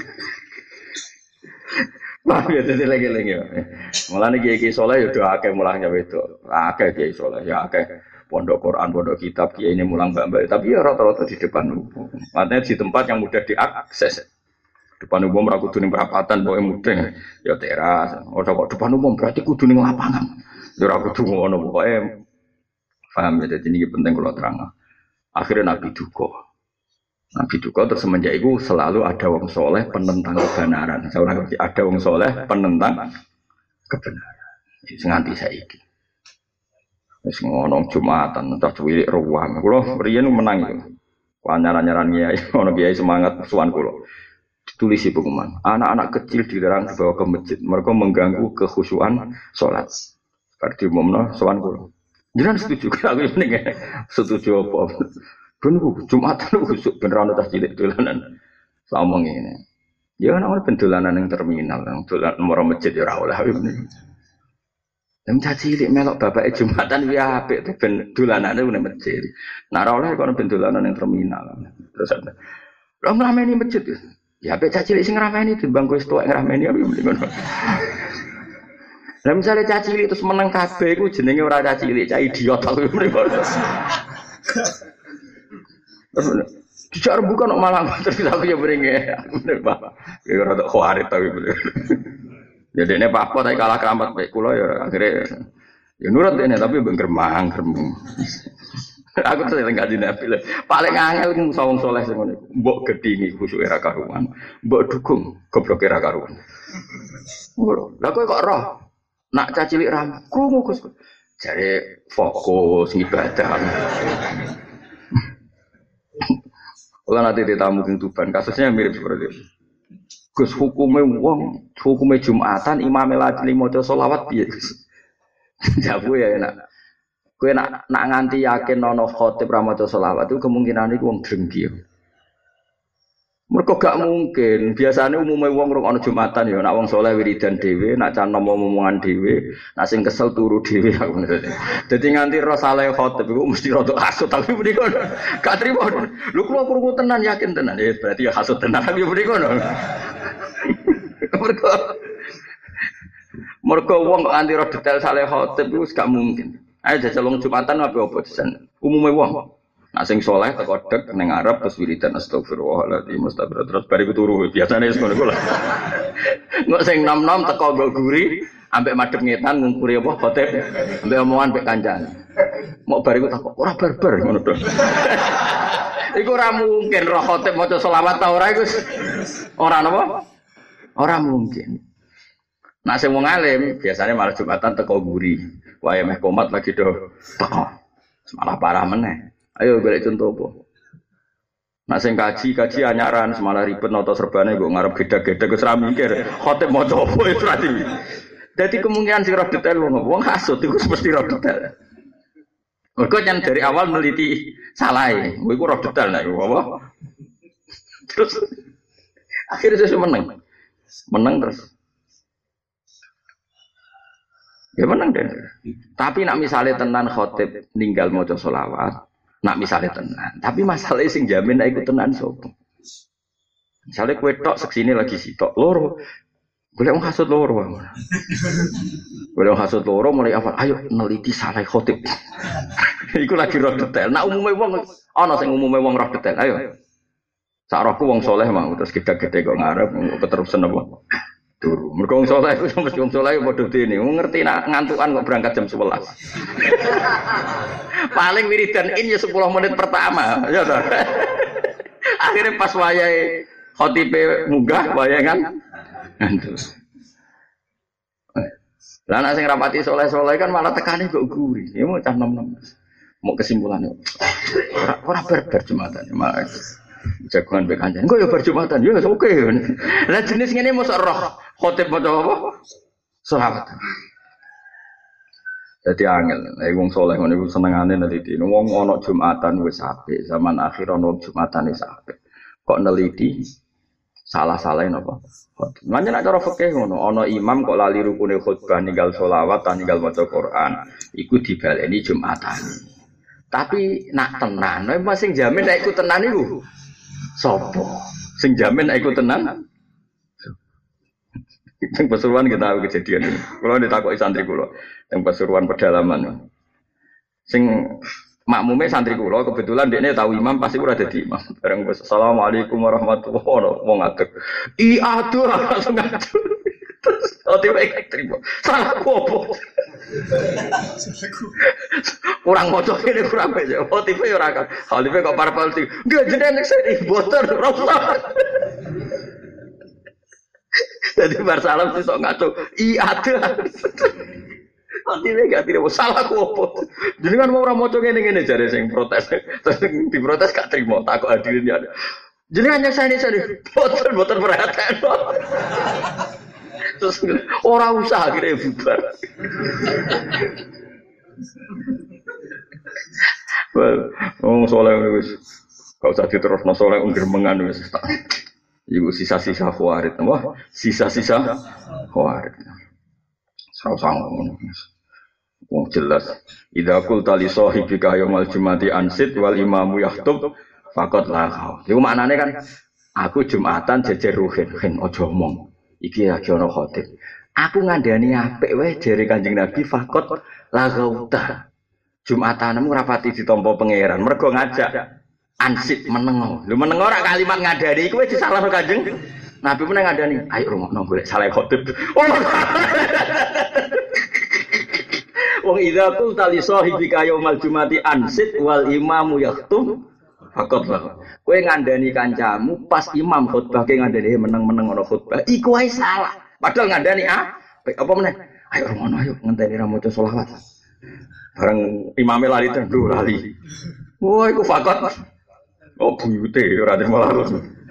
S1: Wah ya jadi lagi-lagi. Malah nih kiai soleh ya udah akeh mulangnya itu akeh kiai soleh ya akeh pondok Quran pondok kitab kiai ini mulang mbak-mbak tapi ya rata-rata di depan umum. Artinya di tempat yang mudah diakses. Depan umum ra kudu ning perapatan pokoke mudeng ya teras. Ora kok depan umum berarti kudu ning lapangan. Ya ora kudu ngono pokoke. Paham ya dadi niki penting kula terang. Akhirnya Nabi duka. Nabi duka terus semenjak itu selalu ada wong soleh penentang kebenaran. Saya ngerti ada wong soleh penentang kebenaran. Wis nganti saiki. Wis ngono Jumatan entah cuwilik ruang. Kula riyen menang iki. Panyaran-nyaran kiai ono kiai semangat suwan kula. Ditulis di pengumuman, anak-anak kecil dilarang dibawa ke masjid, mereka mengganggu kekhusyuan sholat. Seperti umumnya sowan kulo. Jangan setuju, aku ini setuju apa? Bener, Jumatan khusyuk beneran udah cilik dolanan. Ngomong ini, ya kan orang pendolanan yang terminal, yang dolan nomor masjid ya rawol lah ini. Yang cilik melok bapak Jumatan ya apik tuh pendolanan itu masjid. Nah rawol lah kalau pendolanan yang terminal. Terus ada, lo ngerameni masjid tuh. Ya apik cilik sing ngrameni timbang kowe tuwek ngrameni apa mending ngono. Lah misale cilik terus meneng kabeh iku jenenge ora cilik, cah idiot aku mending ngono. Dijak rembukan kok malah terus aku ya beringe. Bener Pak. Ya ora tok khawarit tapi bener. Ya dekne apa tapi kalah keramat bae kula ya akhire ya nurut dene tapi mbek gremang gremeng. Aku tuh yang ngaji Nabi lah. Paling angel ku wong soleh sing ngene. Mbok gedhingi khusyuk era karuan. Mbok dukung goblok era karuan. Ngono. Lah kowe kok roh nak cah cilik ram krungu Gus. Jare fokus ibadah. Kula nanti ditamu king Tuban kasusnya mirip seperti itu. Gus hukume wong, hukume Jumatan imame lali maca selawat piye Gus? Jabu ya enak. Kowe nak nak nganti yakin ana khotib ra maca selawat itu kemungkinan iku wong drengki. Mergo gak mungkin. Biasanya umumnya wong rong ana Jumatan ya, nak wong saleh wiridan dhewe, nak canom omongan dhewe, nak sing kesel turu dhewe aku ngene. Dadi nganti ro saleh khotib iku mesti rada hasud tapi mriki kono. Gak trimo. Lho kula krungu tenan yakin tenan. Ya berarti ya hasud tenan tapi mriki kono. Mergo Mergo wong kok nganti ro detail saleh khotib iku gak mungkin. Ayo jajal wong Jumatan apa apa desan. Umume wong nak sing saleh teko dek ning ngarep terus wiridan astagfirullahaladzim astagfirullah terus bariku turu biasane wis ngono kula. Engko sing nom-nom teko nggo guri ambek madhep ngetan ngungkuri apa khotib ambek omongan ambek kancane. Mok bariku takok ora barbar ngono to. Iku ora mungkin roh khotib maca selawat ta ora iku ora napa? Ora mungkin. Nak sing wong alim biasanya malah Jumatan teko guri. Wae meh komat lagi do teko. Malah parah meneh. Ayo golek contoh apa? Nak sing kaji kaji anyaran semalah ribet nata serbane kok ngarep geda-geda wis ra mikir khotib maca apa wis ra di. Dadi kemungkinan sing roh detail wong wong hasud iku mesti roh detail. Mergo jan dari awal neliti salah e. Kowe iku roh detail nek apa? Terus akhirnya saya menang. Menang terus. Ya menang deh. Tapi nak misalnya tenan khotib ninggal maca selawat nak misalnya tenan, tapi masalahnya sing jamin nek iku tenan sapa? Misalnya kowe tok seksine lagi sitok loro. Golek wong hasud loro. Golek wong hasud loro mulai awal, ayo neliti salah khotib. Iku lagi roh detail. Nak umume wong ana sing umume wong roh detail. Ayo. Sak rohku wong saleh mau terus gede-gede kok ngarep keterusan apa? Turu. Mergo wong saleh iku mesti wong saleh padha dene. Wong ngerti nak ngantukan kok berangkat jam sebelas. Paling wiridan in ya sepuluh menit pertama, ya toh. Akhirnya pas wayahe khotibe munggah wayangan ngantuk. Lah nek sing rapati soleh-soleh kan malah tekane kok guri. Ya mau cah nom-nom. Mau kesimpulannya. Ora ora barbar Jumatan, malah jagoan mbek kancan. Kok ya bar Jumatan, ya oke. Lah jenis ngene mosok roh khotib maca apa? Selawat. Jadi angel, nek wong saleh ngono iku senengane neliti. Wong ana Jumatan wis apik, zaman akhir ana Jumatan wis apik. Kok neliti salah-salahe napa? Manjen nek cara fikih ngono, ana imam kok lali rukune khutbah ninggal selawat, ninggal maca Quran, iku dibaleni Jumatan. Tapi nak tenan, nek sing jamin nek iku tenan iku sapa? Sing jamin nek iku tenan yang Pasuruan kita tahu kejadian ini. Kalau ditakoki santri kula, yang Pasuruan pedalaman. Sing makmume santri kula kebetulan dekne tahu imam pasti ora dadi imam. Bareng assalamualaikum warahmatullahi wabarakatuh. Wong ngadeg. I aduh langsung ngadeg. Terus tiba terima. Salah opo? Kurang moco ini kurang aja. Oh tipe ora kan. Hal tipe kok parpol tipe. Enggak jenenge sing boten ora. Jadi barsalam sih sok ngaco. Iya ada. Nanti dia gak tidak salah aku apa. Jadi kan mau orang moco ngene ngene jare sing protes. Terus diprotes gak terima. Takut hadirin ya. Jadi hanya saya ini saya boten boten perhatian. Terus orang usaha akhirnya bubar. Oh soleh wis. Gak usah diterusno soleh ungkir mengan wis. Ibu sisa-sisa khawarid, apa? Sisa-sisa khawarid. Sang-sang wong jelas. Idza qulta li sahibika yaumal jumati ansit wal imamu yahtub faqad laghaw. Iku maknane kan aku Jumatan jejer ruhin, hen aja omong. Iki lagi ana khotib. Aku ngandani apik wae jere Kanjeng Nabi faqad laghauta. Jumatanmu rapati ditampa pangeran, mergo ngajak ansip menengo. Lho menengo ora kalimat ngadani iku wis disalahno Kanjeng Nabi meneng ngadani. Ayo rungokno golek salah khotib. Oh. Wong idza qulta li sahibika yaumal jumati ansit wal imamu yakhtum faqad lah. Kowe ngandani kancamu pas imam khutbah ke ngandani meneng-meneng ana khutbah. Iku wae salah. Padahal ngandani ah apa meneh? Ayo rungokno ayo ngenteni ra maca selawat. Bareng imame lali tendu lali. Wah iku faqad. Oh buyute ora terima lalu.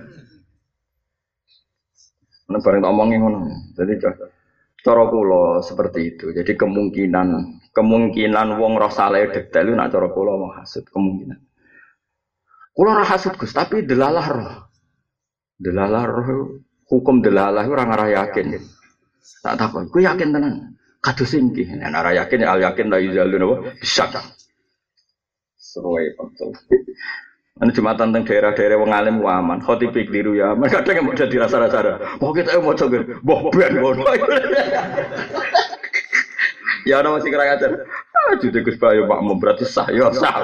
S1: Nek bareng tak omongi ngono. Jadi cara kula seperti itu. Jadi kemungkinan kemungkinan wong roh saleh detail nek cara kula mau hasud kemungkinan. Kula ora hasud Gus, tapi delalah roh. Delalah roh hukum delalah ora ngarah yakin. Tak takon, kowe yakin tenan? Kados iki. Nek ora yakin al yakin la yuzalun apa? Bisa. Seruai betul. Anu jumatan teng daerah-daerah wong alim ku aman, khotib keliru ya aman. Kadang mau jadi rasa-rasa. Oh kita mau coba, boh ben ngono. Ya ana masih kurang ajar. Ah jute Gus Bayu makmum berarti sah ya sah.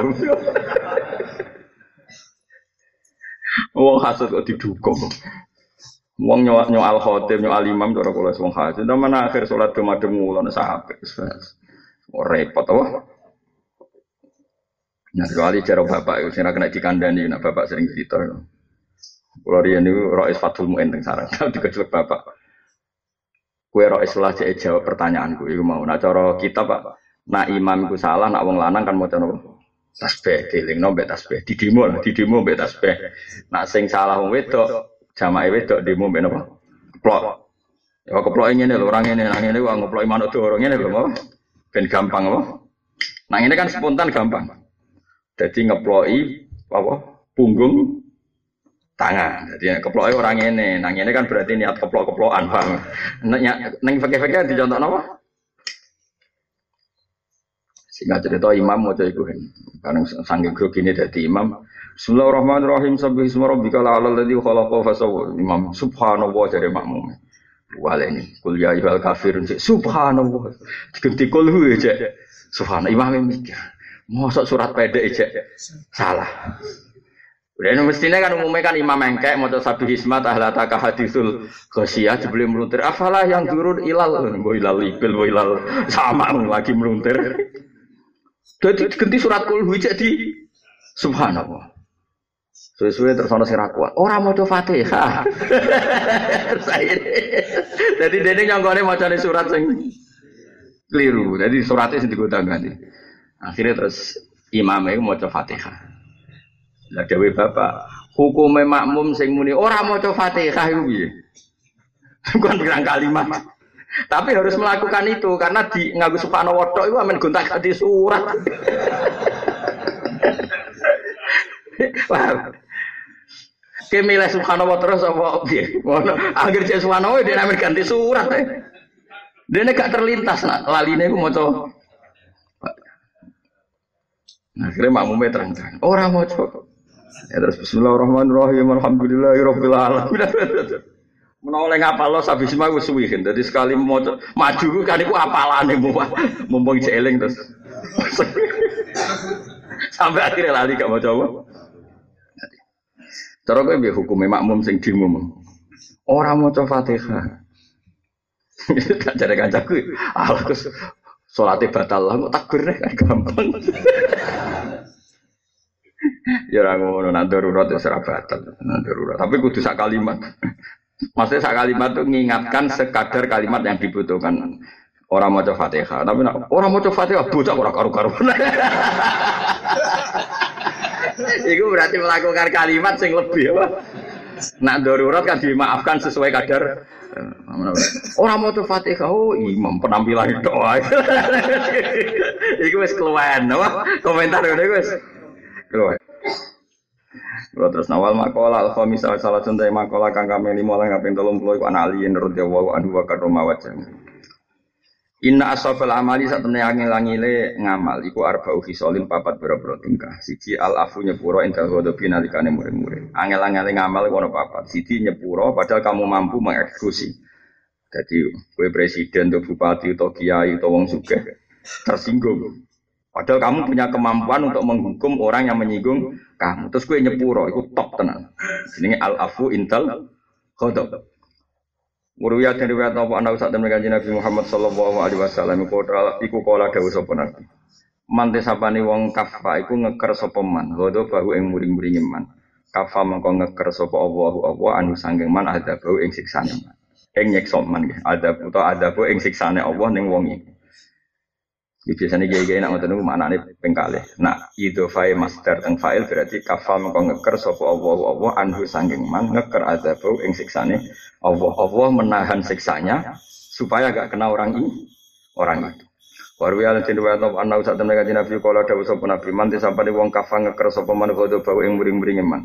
S1: Wong hasud kok didukung. Wong nyowak nyoal khotib nyoal imam cara kula wong hasud. Nang akhir salat kemadem ngulon sahabat. Ora repot apa? Nah, kecuali cara bapak itu sing kena dikandani, nah bapak sering cerita. Kalau dia ini Rois Fathul Mu'in teng sarang, dikecelek bapak. Kue Rois lah cek jawab pertanyaanku, itu mau. Nah cara kita pak, nak imam itu salah, nak wong lanang kan mau coba tasbih, diling no bet tasbih, di demo lah, di demo bet tasbih. Nak sing salah wong wedok, jamaah wedok demo bet apa? Keplok. Ya keplok ini nih, orang ini, orang ini wong keplok iman itu orang ini loh, mau? Ben gampang apa? Nah ini kan spontan gampang. Jadi ngeploi apa punggung tangan. Jadi keploi orang ini, nang ini kan berarti niat keplok-keplokan, paham? Neng fakir-fakir dicontoh apa? Singkat cerita imam mau jadi kuhen. Karena sanggih grogi ini dari imam. Bismillahirrahmanirrahim. Sabih isma rabbika la'alal ladzi khalaqa fasawwa. Imam subhanallah jadi makmum. Wale ini kul ya ayyuhal kafirun. Subhanallah. Diganti kul hu aja. Subhanallah imam mikir. Mosok surat pendek aja salah. Udah ini mestinya kan umumnya kan imam engkek mau sabih ismat ahlataka hadisul ghasyiyah sebelum meluntir. Afalah yang turun ilal, boh ilal ibil, boh ilal sama lagi meluntir. Jadi ganti surat kul jadi subhanallah. Suwe-suwe terus ana sing ra kuat. Ora maca Fatihah. Jadi dene nyonggone macane surat sing keliru. Jadi suratnya sing digodang-ganti. Akhirnya terus imamnya mau coba Fatihah. Lah dewe bapak, hukumnya makmum sing muni ora mau coba Fatihah itu piye? Bukan bilang kalimat. Tapi harus melakukan itu karena di nganggo subhanallah tok iku amen gonta-ganti surat. Wah. Kemile subhanallah terus apa piye? Ngono, anggere cek subhanallah dia amen ganti surat. Dene gak terlintas nak laline iku maca nah, akhirnya makmumnya terang-terang. Orang mau coba. Ya terus Bismillahirrahmanirrahim. Alhamdulillahirabbil alamin. Menoleh ngapal lo sabis mah wis suwi kan. Dadi sekali mau maju kan iku apalane mumpung jeeling terus. Sampai akhirnya lali gak mau coba. Cara kowe piye hukume makmum sing dimum? Ora maca Fatihah. Tak jare kancaku. Allah Gus salate batal lah kok takbir kan gampang. Ya ora ngono nak darurat wis ora batal, nak darurat. Tapi kudu sak kalimat. Maksudnya sak kalimat itu mengingatkan sekadar kalimat yang dibutuhkan. Orang maca Fatihah, tapi nak orang maca Fatihah bocah ora karu-karuan. Iku berarti melakukan kalimat sing lebih apa? Nak darurat kan dimaafkan sesuai kadar. Orang mau tuh Fatihah, oh imam penampilan itu, itu wes keluhan, apa komentar itu wes keluhan. Kalau terus nawal makola alfa misal salah contoh makola kang kami lima orang ngapain tolong puluh ikan alien radhiyallahu anhu wa karoma wajah. Inna asofel amali saat temen angin langile ngamal, iku arba'u khisolin papat boro-boro tingkah. Siji al afu nyepuro indah godobi nalikane murid-murid. Angel-angel ngamal kono papat. Siji nyepuro padahal kamu mampu mengeksekusi. Jadi kue presiden atau bupati atau kiai atau wong sugih tersinggung. Padahal kamu punya kemampuan untuk menghukum orang yang menyinggung kamu. Terus kue nyepuro, itu top tenan. Ini al afu intal godob. Muruya dari riwayat apa anak saat temen kanjeng Nabi Muhammad sallallahu alaihi wasallam iku kala dawuh sapa nabi. Mante sapane wong kafa iku ngeker sapa man, godo bahu ing muring-muringe man. Kafa mengko ngeker sapa Allahu Allah anu sanggeng man ada bau ing siksane man. Ing nyekso man nggih, ada utawa ada bau ing siksane Allah ning wong iki. Iki biasane gaya-gaya nak ngoten niku maknane ping kalih. Nak idhofai masdar teng fa'il berarti kafa mengko ngeker sapa Allahu Allah anu sanggeng man ngeker ada bau ing siksane Allah Allah menahan siksanya supaya gak kena orang ini orang itu. Warwi al tin wa ta ana usah temen kanjeng Nabi kala dawuh sapa Nabi man disapane wong kafang ngeker sapa man godo bau ing muring-muring man.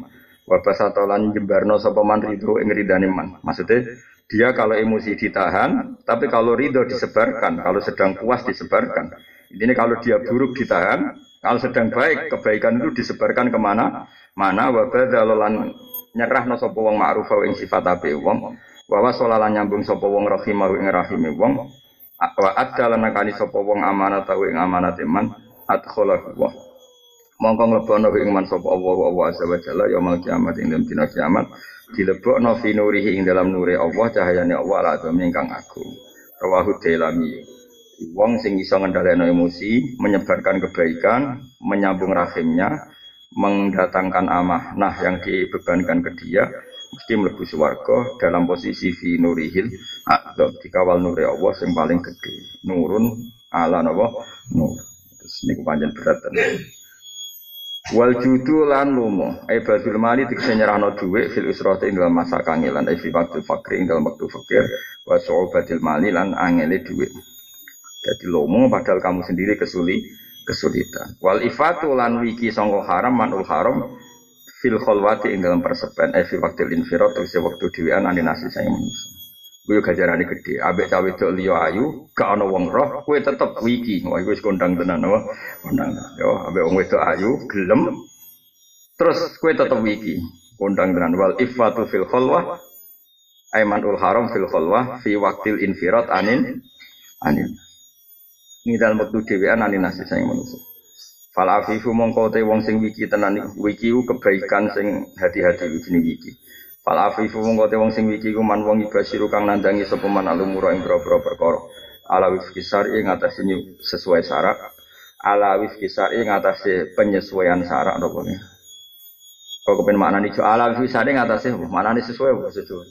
S1: Wa basatolan jembarno sapa man ridho ing ridane man. Maksudnya dia kalau emosi ditahan, tapi kalau ridho disebarkan, kalau sedang puas disebarkan. Ini kalau dia buruk ditahan, kalau sedang baik kebaikan itu disebarkan kemana? Mana wa badzalolan nyerahno sapa wong ma'ruf ing sifat ape wong, wa wasolalan nyambung sapa wong rahimah ing rahime wong, wa adalan nakani sapa wong amanat ing amanate man, adkhalahu wa mongko nglebono ing man sapa Allah wa azza wa jalla yaumul kiamat ing dalem dina kiamat dilebokno fi nurihi ing dalam nure Allah cahayane Allah la ingkang agung. Rawahu Dailami. Wong sing iso ngendhaleno emosi, menyebarkan kebaikan, menyambung rahimnya, mendatangkan amanah yang dibebankan ke dia, mesti mlebu swarga dalam posisi fi nurihil adzab, dikawal nure Allah sing paling gede. Nurun ala napa? Nur. Terus niku pancen berat tenan. Wal judu lan lumo ai badul mali dikse nyerahno dhuwit fil usrati ing dalam masa kangelan ai fi waqtul fakir ing dalam waktu fakir wa su'ubatil mali lan angele dhuwit. Jadi lomo padahal kamu sendiri kesuli kesulitan. Wal ifatu lan wiki sangka haram manul haram fil khalwati ing dalam persepen ai fi waqtil infirat tegese wektu dhewean ane nasi saya manusa. Kuwi gajarane gede, ambek cawe wedok liya ayu, gak ana wong roh, kowe tetep wiki. Wah iku wis kondang tenan apa? Kondang. Yo, ambek wong wedok ayu gelem. Terus kowe tetep wiki, kondang tenan. Wal ifatu fil khalwah aimanul haram fil khalwah fi waqtil infirat anin anin. Ini dalam waktu dhewean anin nasi sing manusa. Fal afifu mongko te wong sing wiki tenan wiki kebaikan sing hati-hati jenenge wiki. Fal afifu mongko te wong sing wiki ku man wong ibasiru kang nandangi sapa man alumura ing boro-boro perkara. Ala wifqi syar'i ngatasi sesuai syarat. Ala wifqi syar'i ngatasi penyesuaian syarat napa ne. Kok kepen maknane jo ala wifqi syar'i ngatasi maknane sesuai apa sesuai.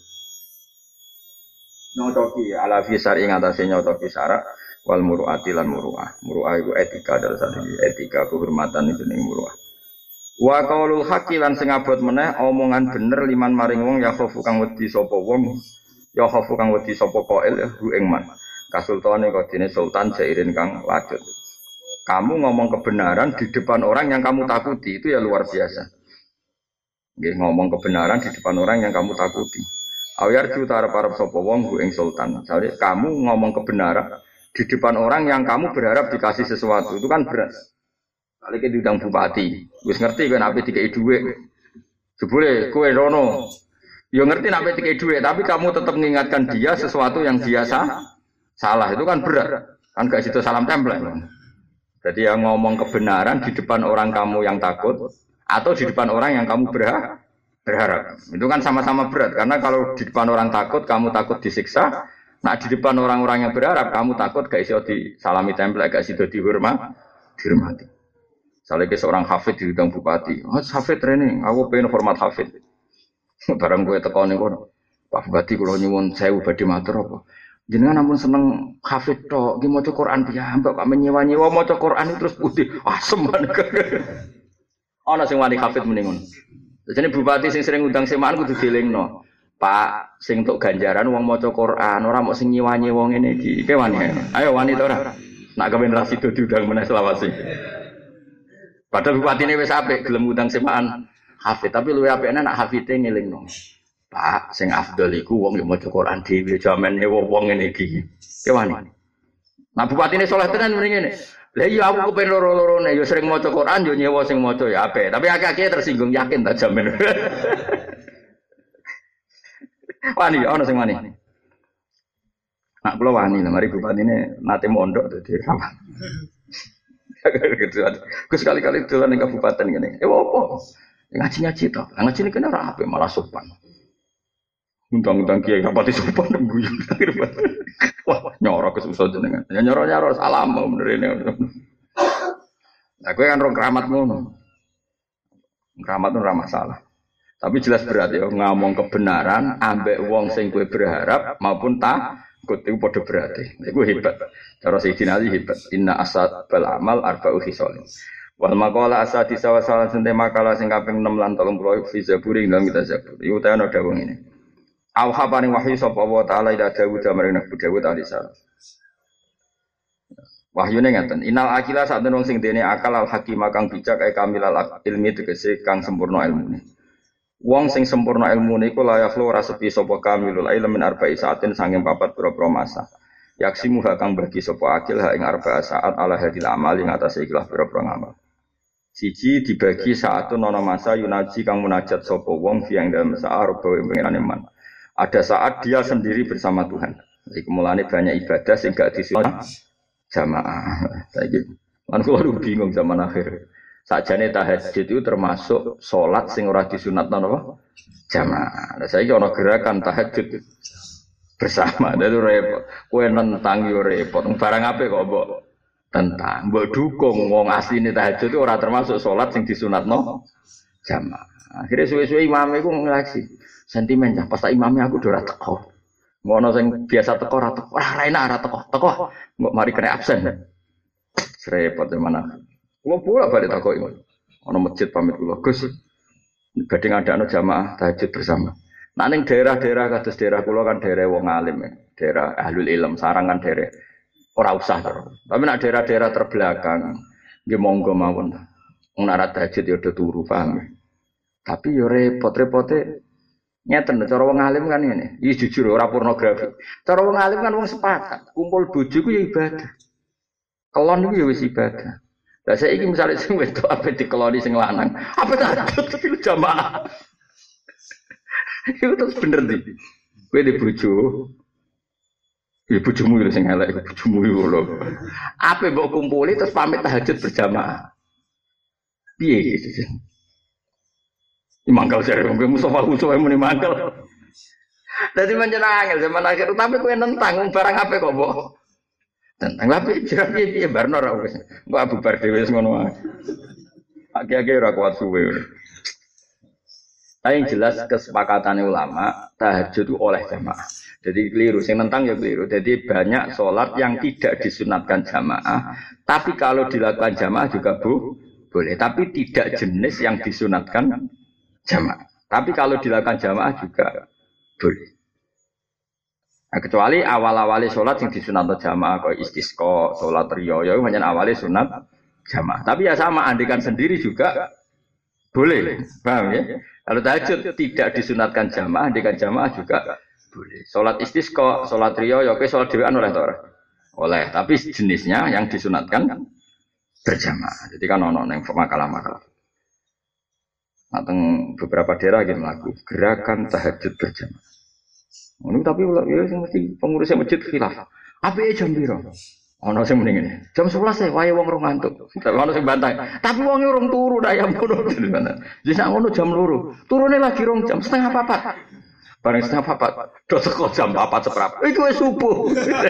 S1: Nyotoki ala wifqi syar'i ngatasi nyotoki syarat wal muru'ati lan muru'ah. Muru'ah iku etika dalem satu etika kehormatan itu ning muru'ah. Wa qaulul haqqi lan sing abot meneh omongan bener liman maring wong ya khofu kang wedi sapa wong ya khofu kang wedi sapa qail hu ing man kasultane kodine sultan jairin kang lajut. Kamu ngomong kebenaran di depan orang yang kamu takuti itu ya luar biasa. Nggih ngomong kebenaran di depan orang yang kamu takuti. Awar ju tarep-arep sapa wong hu ing sultan. Misalnya kamu ngomong kebenaran di depan orang yang kamu berharap dikasih sesuatu itu kan berat. Kali ke diundang bupati, wis ngerti kan ape dikei dhuwit. Jebule kowe rono. Yo ngerti nek ape dikei dhuwit, tapi kamu tetap mengingatkan dia sesuatu yang biasa salah. Itu kan berat. Kan gak situ salam tempel. Jadi yang ngomong kebenaran di depan orang kamu yang takut atau di depan orang yang kamu berharap, berharap. Itu kan sama-sama berat karena kalau di depan orang takut kamu takut disiksa, nah di depan orang-orang yang berharap kamu takut gak iso disalami tempel, gak iso dihormat, dihormati. Misalnya ke seorang hafid di bidang bupati, oh, hafid training, aku pengen format hafid. Barang gue tekan nih kono, Pak Bupati kalau nyuwun saya ubadi matur apa? Jenengan namun seneng hafid tok, ki maca Quran piyambak, kok menyewa-nyewa maca Quran terus putih, asem banget. Ana sing wani hafid mendingun. Jadi bupati sing sering undang semaan kudu dielingno. Pak, sing untuk ganjaran wong maca Quran, ora mok sing nyewa-nyewa ngene iki. Ki wani. Ayo wani to ora? Nak kepen rasido diundang meneh selawase. Padahal bupati ini wis apik gelem ngundang semaan hafid, tapi luwih apikne nak hafide ngelingno. Pak, sing afdal iku wong yo maca Quran dhewe jaman nyewa wong ngene iki. Ki wani. Nah bupatine saleh tenan mrene ngene. Lah iya aku kepen loro-lorone yo sering maca Quran yo nyewa sing maca ya apik, tapi akeh-akeh tersinggung yakin ta jamin. Wani ana sing wani. Nak kula wani mari bupatine nate mondok dadi ramah. Gus sekali-kali dolan ning kabupaten ngene. Eh opo? Ngaji-ngaji to. Ngaji iki kena ora apik malah sopan. Undang-undang kiai rapati sopan guyu. Wah, nyoro kesusah jenengan. Ya nyoro-nyoro salam bener ini. Nah, kowe kan rong keramat ngono. Keramat ora masalah. Tapi jelas berat ya ngomong kebenaran ambek wong sing kowe berharap maupun takut itu padha berarti. Iku hebat. Cara Sayyidina Ali hebat. Inna asad bal amal arba'u khisalin. Wal maqala asadi sawasalan sente makalah sing kaping enam lan tiga puluh fi zaburi dalam kita zabur. Iku ta ana dawuh ngene. Auha paring wahyu sapa wa taala ila Dawud marang Nabi Dawud alaihi salam. Wahyune ngaten. Innal akila sak wong sing dene akal al hakim kang bijak ai kamilal ilmi tegese kang sempurna ilmune. Wong sing sempurna ilmune iku layak lo ora sepi sapa kamilul ilmi min arba'i saatin sanging papat pira-pira masa. Yaksimu kang bagi sapa akil ha ing arba'a saat ala hadil amal ing atase ikhlas pira-pira ngamal. Siji dibagi saatun ana masa yunaji kang munajat sapa wong fi ing dalem saat rupa pengiran iman. Ada saat dia sendiri bersama Tuhan. Jadi mulane banyak ibadah sing gak disunat jamaah. Saiki lan kula bingung zaman akhir. Sakjane tahajud itu termasuk salat sing ora disunatno napa? Jamaah. Lah saiki ana gerakan tahajud bersama. Dadi repot. Kowe nentang yo repot. Barang apik kok mbok tentang. Mbok dukung wong asline tahajud itu ora termasuk salat sing disunatno jamaah. Akhire suwe-suwe imam iku nglaksi. Sentimen cah pas tak imame aku ora teko. Ngono sing biasa teko ora teko. Ora enak ora teko. Teko kok mari kena absen. Repot mana. Kulo pula balik takoki. Ana masjid pamit kula, Gus. Badhe ngadakno jamaah tahajud bersama. Nah ning daerah-daerah kados daerah kula kan daerah wong alim, ya. Daerah ahlul ilm, sarang kan daerah ora usah to. Tapi nek daerah-daerah terbelakang nggih monggo mawon. Wong nek tahajud ya do turu paham. Tapi yo repot-repote nyeten cara wong alim kan ngene. Iki jujur ora pornografi. Cara wong alim kan wong sepakat, kumpul bojo ku ya ibadah. Kelon iku ya wis ibadah. Lah saiki misale sing wedok ape dikeloni sing lanang, apa tahajud tapi jamaah. Itu terus bener ndi? Kowe di bojo. Ya bojomu lho sing elek iku bojomu lho. Ape mbok kumpuli terus pamit tahajud berjamaah. Piye gitu. Ini mangkal sih, mungkin Mustafa Mustafa muni mangkal. Jadi menjadi angel zaman akhir, tapi kue nentang barang apa kok boh? Tentang tapi jelas dia dia barno rawes, gua abu bardewes ngono aja. Akhir-akhir ora kuat suwe. Tapi yang jelas kesepakatan ulama tahajud itu oleh jamaah. Jadi keliru, yang nentang ya keliru. Jadi banyak sholat yang tidak disunatkan jamaah, tapi kalau dilakukan jamaah juga bu, boleh. Tapi tidak jenis yang disunatkan jamaah. Tapi kalau dilakukan jamaah juga boleh. Nah, kecuali awal-awali sholat yang disunat jamaah, kayak istisqa, sholat riyo, ya hanya awalnya sunat jamaah. Tapi ya sama, andikan sendiri juga boleh. Paham ya? Kalau tahajud tidak disunatkan jamaah, andikan jamaah juga boleh. Sholat istisqa, sholat riyo, ya oke, sholat dewan oleh tora. Oleh, tapi jenisnya yang disunatkan berjamaah. Jadi kan ono yang makalah-makalah. Atau beberapa daerah yang melakukan gerakan tahajud berjamaah. Ini tapi ya mesti pengurusnya masjid khilaf. Apa ya jam biru? Ono sing mending ini. Jam sebelas saya wae wong rong ngantuk. Tapi ono sing bantah. Tapi wong rong turu dah yang ngono. Jadi sak ngono jam loro. Turune lagi rong jam setengah papat. Bareng setengah papat. Do teko jam papat seprap. Iku wis subuh.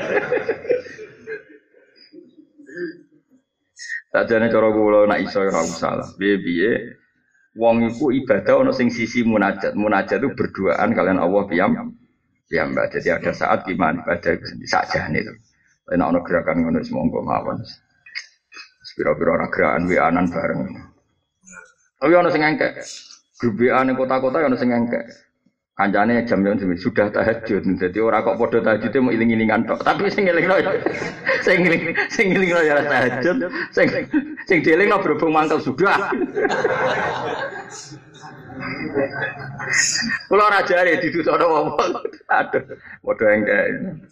S1: Sajane cara kula nek iso ora usah. Piye-piye wong iku ibadah ana sing sisi munajat. Munajat itu berduaan kalian Allah piyam. Piyambak. Jadi ada saat gimana ibadah itu sendiri sajane itu. Nek ana gerakan ngono wis monggo mawon. Spiro-piro ora gerakan wianan bareng. Tapi ana sing engkek. Grup W A ning kota-kota ana sing engkek. Kancane jam-jam sudah tahajud. Dadi ora kok padha tahajude mau iling-ilingan tok. Tapi sing elingno sing eling sing elingno ya tahajud, sing sing dielingno berhubung mangkel sudah. Kula ora jare didutokno wong. Aduh, padha engkek.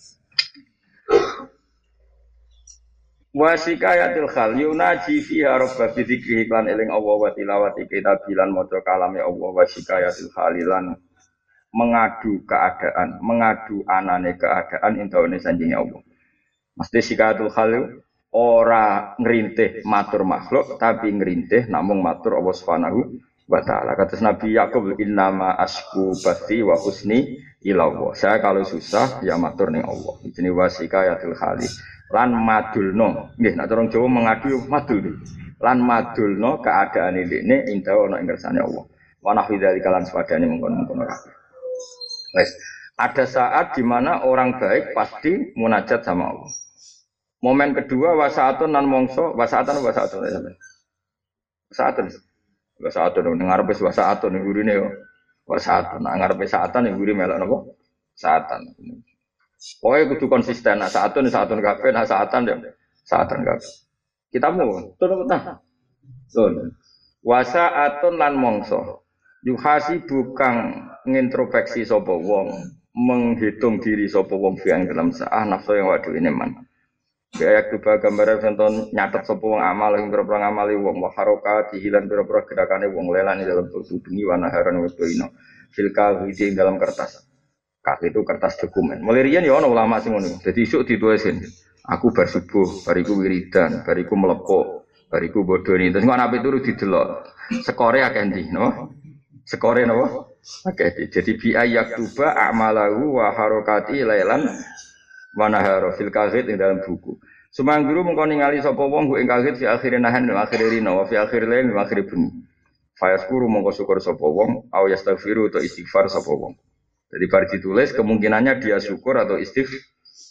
S1: Wasikayatil khal yunaji fiha rabba bi dzikri lan eling Allah wa tilawati kitabilan maca kalame Allah wasikayatil khalilan mengadu keadaan, mengadu anane keadaan intaune sanjinge Allah. Mesti sikayatul khal ora ngrintih matur makhluk tapi ngrintih namung matur Allah Subhanahu wa taala. Kata Nabi Yakub innama asku bati wa husni ila Allah. Saya kalau susah ya matur ning Allah. Jenenge wasikayatul khali. Lan madulno, nggih nek orang Jawa mengadu madul. Lan madulno keadaan ini inta ana ing kersane Allah. Wa nahwi dzalika lan sepadane mengkon-mengkon kabeh. Wes, ada saat di mana orang baik pasti munajat sama Allah. Momen kedua wasaatun nan mongso, wasaatan wasaatun ya sampean. Wasaatun. Wasaatun ning ngarepe wasaatun ning gurine yo. Wasaatun nang ngarepe saatan ning guri melok napa? Saatan. Pokoknya kudu konsisten, nah saatun, saatun kabeh, nah saatan ya, saatan kabeh. Kita mau, turun petah. Turun. Wasaatun lan mongso. Yuhasi bukan ngintrospeksi sapa wong, menghitung diri sapa wong fiang dalam saah nafsu yang waduh ini man. Kayak coba gambar contoh nyatet sapa wong amal yang berapa ngamali wong wa harokat hilan berapa gerakane wong lelan dalam tubuh bengi wana haran wedoino filka widi dalam kertas. Kak itu kertas dokumen. Mulai riyen ya ana ulama sing ngono. Dadi isuk ditulisin. Aku bar subuh, bariku wiridan, bariku melepok, bariku bodoni. Terus kok ape turu didelok. Skore akeh ndi, no? Skore napa? Akeh. Jadi bi ayaktuba a'malahu wa harakati lailan wa nahara fil kazid ing dalam buku. Sumangguru mengko ningali sapa wong ing kazid fi akhirin nahan wa akhir rina wa fi akhir lail wa akhir bunyi. Fayaskuru mengko syukur sapa wong au yastaghfiru atau istighfar sapa wong. Jadi bar ditulis kemungkinannya dia syukur atau istighfar.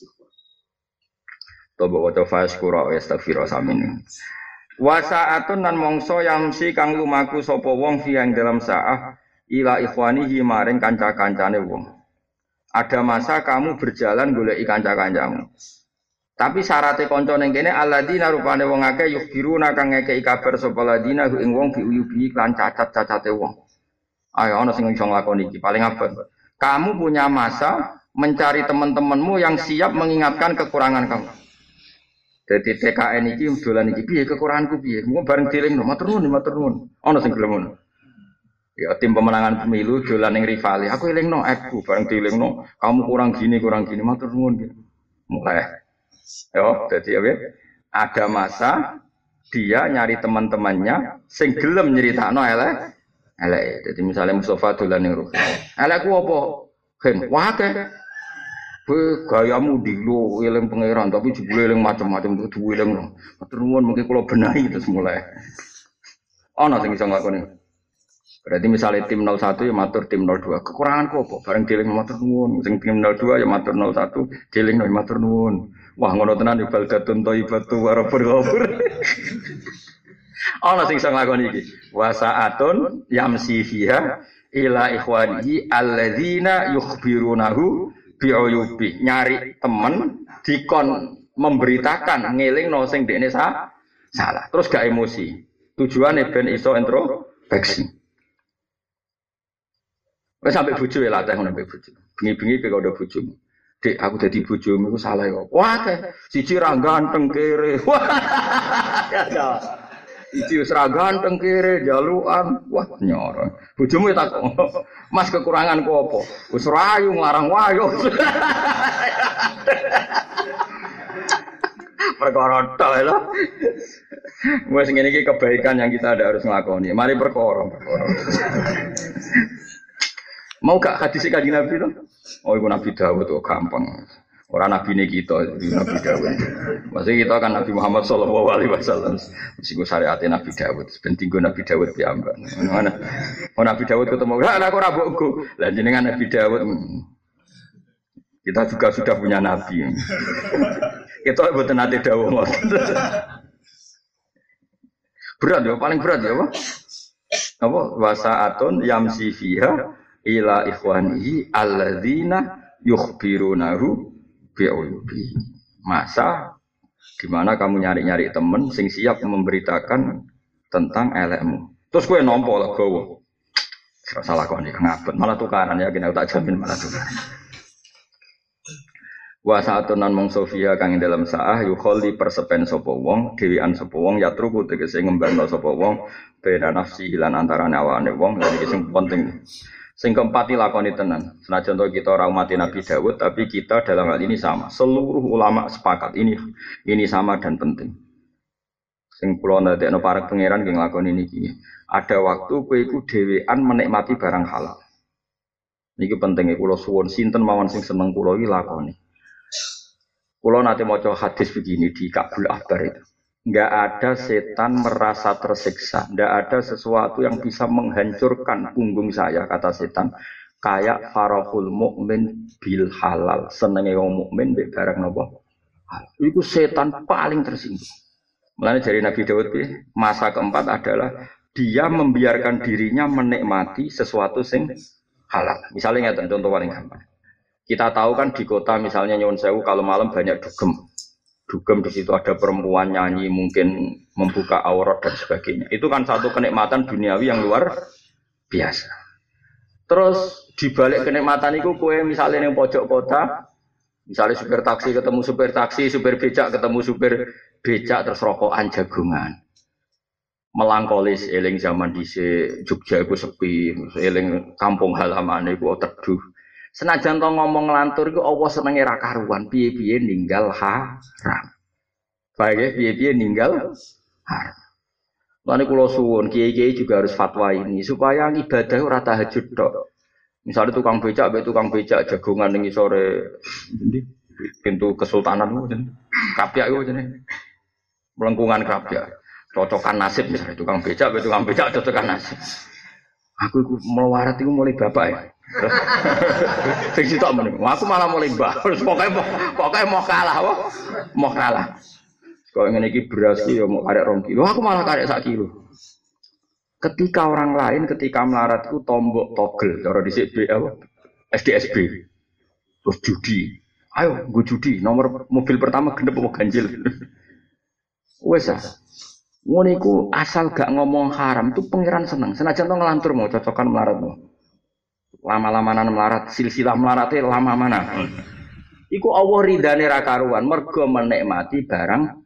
S1: Toba waca fayaskuru au yastaghfiru samin. Wa sa'atun nan mongso yamsi kang lumaku sapa wong fi ing dalam saah ila ikhwanihi maring kanca-kancane wong. Ada masa kamu berjalan goleki kanca-kancamu. Tapi syaratnya kanca ning kene alladzina rupane wong akeh yukhbiruna kang ngekeki kabar sapa ladina ing wong biuyubi lan cacat-cacate wong. Ayo ana sing iso nglakoni iki paling abot. Kamu punya masa mencari teman-temanmu yang siap mengingatkan kekurangan kamu. Jadi T K N iki dolan iki piye kekuranganku piye? Mung bareng dilingno matur nuwun matur nuwun. Ana sing gelem ngono. Ya tim pemenangan pemilu dolan ning rivali. Aku elingno aku bareng dilingno kamu kurang gini kurang gini matur nuwun. Mulai yo, jadi apa? Ada masa dia nyari teman-temannya sing gelem nyeritakno elek. Elek. Jadi misalnya Mustafa dolan ning ruh. Elekku apa? Gen, wah akeh. Kowe gayamu dilo eling pangeran tapi jebule eling macam-macam kudu eling. Matur nuwun mengki kula benahi terus mulai. Ana sing iso nglakoni. Berarti misalnya tim nol satu ya matur tim nol dua. Kekuranganku apa? Bareng dieling matur nuwun. Sing tim nol dua ya matur nol satu, dieling matur nuwun. Wah ngono tenan ibadatun thayyibatu wa rabbul ghafur. Ana sing iso nglakoni iki. Wa sa'atun yamsi fiha ila ikhwanihi alladzina yukhbirunahu bi'uyubi. Nyari temen dikon memberitakan ngelingno sing dekne sa salah. Terus gak emosi. Tujuane ben iso introspeksi. Wes sampe bojo ya latih ngono sampe bojo. Bengi-bengi kowe udah bojomu. Dik, aku dadi bojomu iku salah kok. Wah, siji ra ganteng kere. Wah. Ya ya. Siji wis ra ganteng kere jalukan. Wah, nyoro. Bojomu tak Mas kekuranganku apa? Wis rayu nglarang wayo. Perkara tok lho. Wes ngene iki kebaikan yang kita ada harus nglakoni. Mari perkara, perkara. Mau gak hadis Kanjeng Nabi to? Oh, iku Nabi Dawud kok gampang. Ora nabine kita, Nabi Dawud. Maksudnya kita kan Nabi Muhammad sallallahu alaihi wasallam. Mesti go syariate Nabi Dawud. Penting go Nabi Dawud piyambak. Mana? Oh Nabi Dawud ketemu, "Lah aku ora mbokku." Lah jenengan Nabi Dawud. Kita juga sudah punya nabi. Kita mboten nate dawuh ngoten. Berat ya, paling berat ya, apa? Apa? Wasaatun yamsi fiha ila ikhwanihi alladzina yukhbirunahu bi'uyubi. Masa di mana kamu nyari-nyari teman sing siap memberitakan tentang elekmu. Terus kowe nampa legowo. Ora salah kok nek ngabut, malah tukaran ya kena tak jamin malah tukaran. Wa sa'atunan mong sofia kang dalam saah yukholli persepen sapa wong dhewean sapa wong yatruku tegese ngembangno sapa wong beda nafsi lan antarané awane wong lha iki sing penting. Sing keempat dilakoni tenan. Senajan to kita ora umat Nabi Dawud, tapi kita dalam hal ini sama. Seluruh ulama sepakat ini ini sama dan penting. Sing kula ndadekno para pangeran nggih nglakoni niki. Ada waktu kowe iku dhewean menikmati barang halal. Niki pentinge kula suwun sinten mawon sing seneng kula iki lakoni. Kula nate maca hadis begini di Kabul Akbar itu. Enggak ada setan merasa tersiksa, enggak ada sesuatu yang bisa menghancurkan punggung saya kata setan kayak farahul mukmin bil halal, senenge wong mukmin mbek barang napa halal. Iku setan paling tersinggung. Mulane dari Nabi Daud iki masa keempat adalah dia membiarkan dirinya menikmati sesuatu sing halal. Misalnya ngeten contoh paling gampang. Kita tahu kan di kota misalnya Nyuwun Sewu kalau malam banyak dugem. Dugem di situ ada perempuan nyanyi mungkin membuka aurat dan sebagainya. Itu kan satu kenikmatan duniawi yang luar biasa. Terus dibalik kenikmatan itu kue misalnya yang pojok kota, misalnya supir taksi ketemu supir taksi, supir becak ketemu supir becak terus rokokan jagungan. Melangkolis eling zaman dhisik Jogja iku sepi, eling kampung halaman iku teduh. Senajan to ngomong ngelantur iku Allah senenge ra karuan, piye-piye ninggal haram. Baik piye-piye ninggal haram. Lan kula suwun kiai-kiai juga harus fatwa ini supaya ibadah ora tahajud tok. Misalnya tukang becak, be tukang becak jagongan ning sore ndi pintu kesultanan ku jeneng. Kapyak iku jenenge. Melengkungan kapyak. Cocokan nasib misalnya tukang becak, be tukang becak cocokan nasib. Aku iku melarat iku mulai bapak ya. Sing sitok meneng. Aku malah mulai mbah. Pokoke pokoke mau kalah, wah. Mau kalah. Kok ngene iki beras iki ya mau karek rong kilo, aku malah karek sak kilo. Ketika orang lain ketika melarat itu tombok togel, cara dhisik B apa? S D S B. Terus judi. Ayo, gue judi. Nomor mobil pertama genep apa ganjil. Wes ah. Ngono iku asal gak ngomong haram itu pangeran seneng. Senajan to ngelantur mau cocokan melarat mau. Lama-lamanan melarat, silsilah melarate lama mana. Iku Allah ridane ra karuan mergo menikmati barang.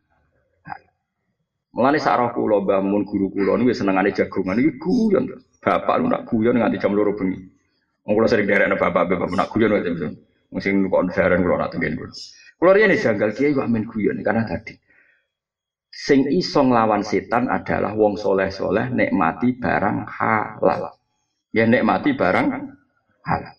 S1: Mulane sak roh kula Mbah Mun guru kula niku senengane jagongan iki guyon. Bapak lu nak guyon nganti jam loro bengi. Wong kula sering derekne bapak bapak nak guyon wae mesti. Mesti kok ndaran kula nak tengen kula. Kula riyen janggal kiai kok amen guyon karena tadi sing iso nglawan setan adalah wong soleh-soleh nikmati barang halal. Ya nikmati barang halal.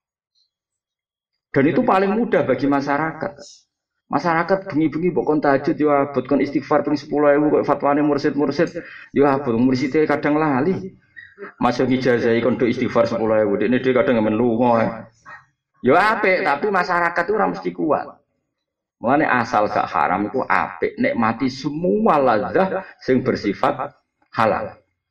S1: Dan itu paling mudah bagi masyarakat. Masyarakat bengi-bengi mbok tahajud yo abot kon istighfar ping sepuluh ribu kok fatwane mursid-mursid yo abot murside kadang lali. Masuk ijazahi kon do istighfar sepuluh ribu dekne dhewe kadang men lunga. Yo apik tapi masyarakat itu ora mesti kuat. Mulane asal gak haram iku apik nikmati semua lazat sing bersifat halal.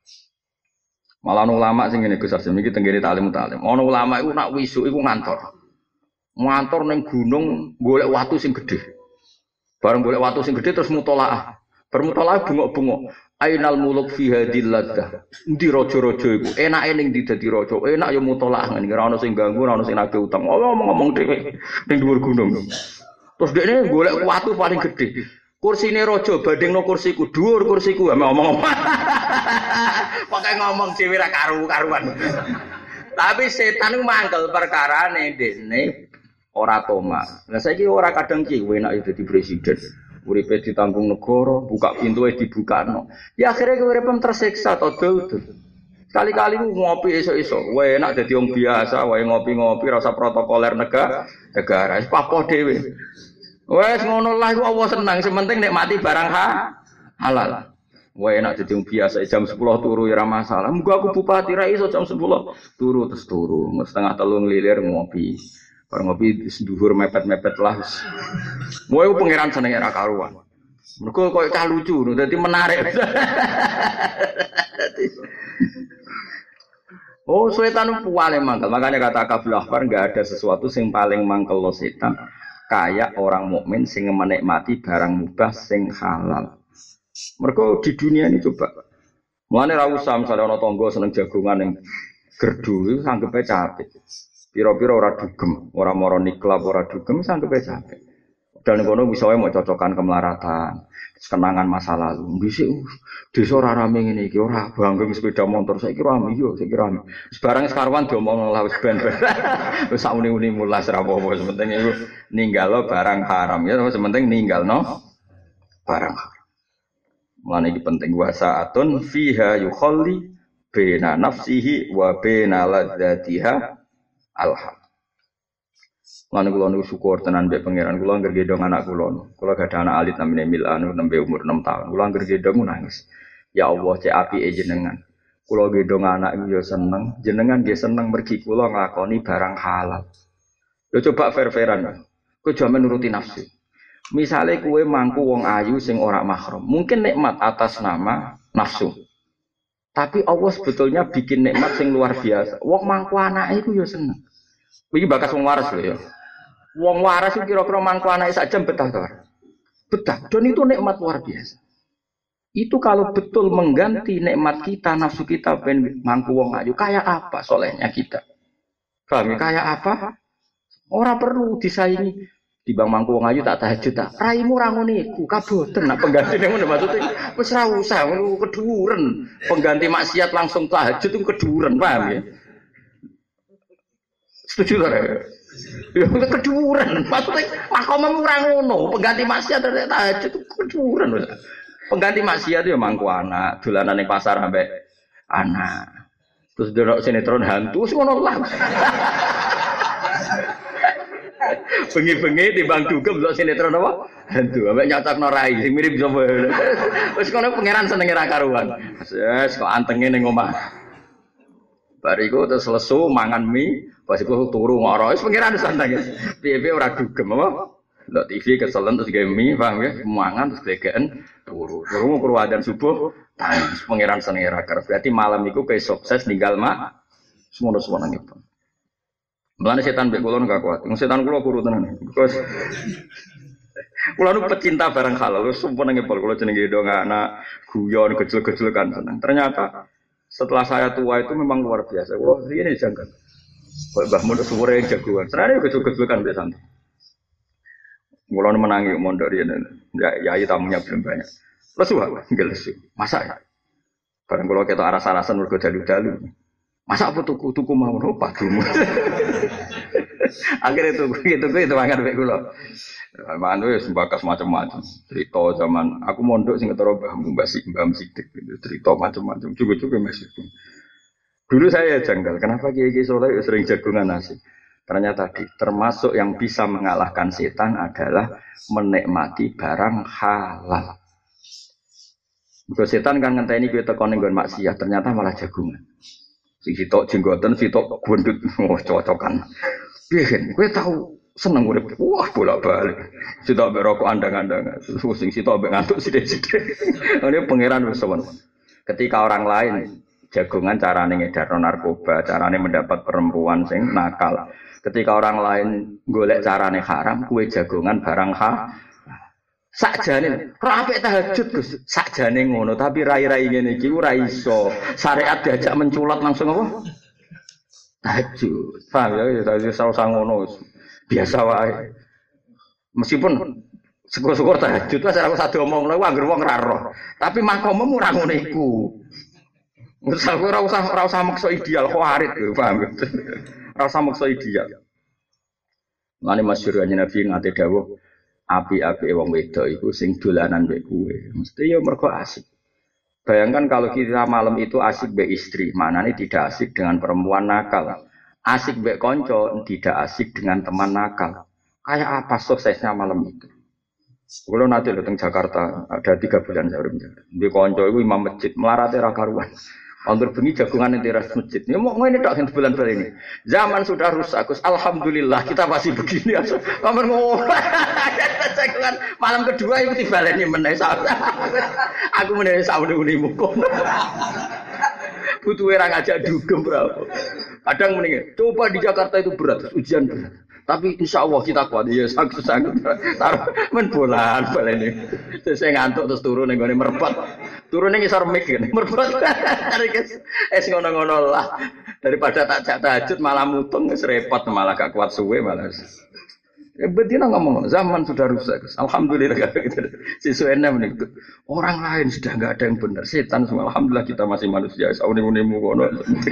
S1: Malah ulama sing ngene Gus Asim iki tenggene taklim taklim. Ana ulama iku nak wisuk iku ngantor. Ngantor ning gunung golek watu sing gedhe. Bareng golek watu sing gedhe terus mutolaah. Bermutolaah bengok-bengok. Ainal muluk fi hadil laddah. Endi raja-raja iku? Enake ning ndi dadi raja? Enak ya mutolaah ngene. Ora ono sing ganggu, ora ono sing nagih utang. Ngomong-ngomong dhewe ning dhuwur gunung. Terus dekne golek watu paling gedhe. Kursine raja bandingno kursiku, dhuwur kursiku. Ngomong-ngomong. Pokoke ngomong dhewe ra karu-karuan. Tapi setan iku mangkel perkarane dekne ora toma. Lah saiki ora kadang ki enak ya dadi presiden. Uripe ditanggung negara, buka pintuwe dibukakno. Ya akhire uripem tersiksa to dul. Kali-kali ngopi esuk-esuk, wae enak dadi wong biasa, wae ngopi-ngopi ora usah protokoler negara, negara wis papoh dhewe. Wes ngono lah iku Allah senang, sementing nikmati barang ha, halal. Wae enak dadi wong biasa jam sepuluh turu ya ora masalah. Muga aku bupati ra iso jam sepuluh turu terus turu, setengah telu nglilir ngopi. Bar ngopi dhuwur mepet-mepet lah. Moe pangeran senenge ra karuan. Mergo koyo cah lucu, dadi menarik. Oh, setan paling mangkel. Makanya kata Kabul Ahbar enggak ada sesuatu sing paling mangkel lo setan kayak orang mukmin sing menikmati barang mubah sing halal. Mergo di dunia ini coba. Mulane ra usah misale ana tangga seneng jagongan ning gerdu iku sanggepe capek. Piro-piro ora dugem, ora moro niklap, ora dugem sanggepe capek. Dan kono bisa wae mau cocokan kemelaratan, kenangan masa lalu. Dhisik desa ora rame ngene iki, ora bangga sepeda motor saiki rame yo, saiki rame. Sebarang sekarwan diomong lah wis ben-ben. Wis sauni-uni mulas ra apa-apa, sementing iku ninggalo barang haram ya, sementing ninggalno barang haram. Mulane iki penting wasaatun fiha yukhalli baina nafsihi wa baina ladzatiha alham. Lan kula niku syukur tenan mbek pangeran kula anggere gendong anak kula. Kula gadah anak alit namine Milan nembe umur enam tahun. Kula anggere gendong nangis. Ya Allah cek apike jenengan. Kula gendong anak iku ya seneng, jenengan nggih seneng mergi kula nglakoni barang halal. Lho coba fair-fairan. Kowe jaman nuruti nafsu. Misale kowe mangku wong ayu sing ora mahram, mungkin nikmat atas nama nafsu. Tapi Allah sebetulnya bikin nikmat sing luar biasa. Wong mangku anake iku ya seneng. Iki bakas wong waras lho ya. Wong waras itu kira-kira mangku anake sak jam betah to. Betah. Dan itu nikmat luar biasa. Itu kalau betul mengganti nikmat kita, nafsu kita ben mangku wong ayu, kayak apa solehnya kita? Paham ya? Kayak apa? Ora perlu disaingi. Dibang mangku wong ayu tak tahajud tak. Raimu ra ngono iku, kaboten nak penggantine ngono maksudnya wis ra usah ngono keduren. Pengganti maksiat langsung tahajud itu keduren, paham ya? Setuju ta? Ya keduren. Maksudnya makommu ora ngono, pengganti maksiat tahajud itu keduren. Pengganti maksiat ya mangku anak, dolanan ning pasar ambek anak. Terus delok sinetron hantu wis ngono lah. Bengi-bengi timbang dugem delok sinetron apa? Hantu, ambek nyatakno rai sing mirip sapa. Wis kono pangeran senenge ra karuan. Wes kok antenge ning omah. Bariku terus lesu mangan mie, pas iku turu ngoro. Wis pangeran santai. Piye-piye ora dugem apa? Ndak T V keselen terus gawe mie, paham ya? Mangan terus glegeken turu. Turu karo adzan subuh, tangis pangeran senenge ra kerep. Berarti malam iku kowe sukses ninggal mak semono-semono itu. Mulane setan mbek kula enggak kuat. Wong setan kula kuru tenan. Because kula nu pecinta barang halal, sumpah nang ngepol kula jenenge dong anak guyon gejol-gejol kan seneng. Ternyata setelah saya tua itu memang luar biasa. Kula ini janggal. Mbah Mun suwure jagoan. Senane gejol-gejol kan mbek santai. Mulane menangi mondok riyen. Ya yai tamunya belum banyak. Lesu aku, enggak lesu. Masa ya? Bareng kula ketok aras-arasan mergo dalu-dalu. Masa apa tuku tuku mau opo padumu. Akhirnya tuku gitu itu mangan mek kula. Mangan wis mbakas macam-macam. Cerita zaman aku mondok sing ketara Mbah Mbah Sik, Mbah Sidik gitu. Cerita macam-macam. Cukup-cukup masih. Dulu saya janggal, kenapa kiai-kiai soleh sering jagungan nasi? Ternyata tadi, termasuk yang bisa mengalahkan setan adalah menikmati barang halal. Kalau setan kan ngenteni kowe teko ning nggon maksiat, ternyata malah jagungan. Sing sitok jenggoten, sitok gondut, oh cocokan. Piye kowe tahu seneng urip? Wah, bolak-balik. Sitok mbek rokok andang-andang. Sing sitok mbek ngantuk sithik-sithik. Ini pangeran wis sowan. Ketika orang lain jagungan carane ngedarno narkoba, carane mendapat perempuan sing nakal. Ketika orang lain golek carane haram, kue jagongan barang ha. Sakjane ra apik tahajud Gus. Sakjane ngono, tapi rai-rai ngene iki ora iso. Syariat diajak menculat langsung apa? Tahajud. Paham ya, ya usah ngono. Biasa wae. Meskipun syukur-syukur tahajud wis ora usah diomongno, anggere wong ra roh. Tapi makommu ora ngono iku. Usah ora usah ora usah maksa ideal khawarit, paham ya? Ora usah maksa ideal. Mane masyhur kanjeng Nabi ngate dawuh, api-api wong wedok iku sing dolanan mbek kowe. Mesti ya mergo asik. Bayangkan kalau kita malam itu asik mbek istri, manane tidak asik dengan perempuan nakal. Asik mbek kanca, tidak asik dengan teman nakal. Kayak apa suksesnya malam itu? Kalau nanti datang Jakarta ada tiga bulan saya urip Jakarta. Di kanca iku imam masjid, melarate ra karuan. Anggur bengi jagungan di teras masjid. Ya mau ngene tok bulan-bulan ini. Zaman sudah rusak, Gus. Alhamdulillah kita masih begini. Kamu ngomong. Jagungan malam kedua itu dibaleni meneh. Aku meneh saune-unimu kono. Butuh orang ngajak dugem berapa. Kadang mending coba di Jakarta itu berat, ujian berat. Tapi insya Allah kita kuat, ya sanggup-sanggup. Taruh men bolan baleni. Terus saya ngantuk terus turun ning gone merpet. Turun ning isor mik ngene. Merpet. Es ngono-ngono lah. Daripada tak jak tahajud malah mutung wis repot malah gak kuat suwe malah. Ya betina ngomong, zaman sudah rusak. Alhamdulillah gitu. Sisuene menika. Orang lain sudah enggak ada yang benar. Setan semua. Alhamdulillah kita masih manusia. Saune-unemu kono.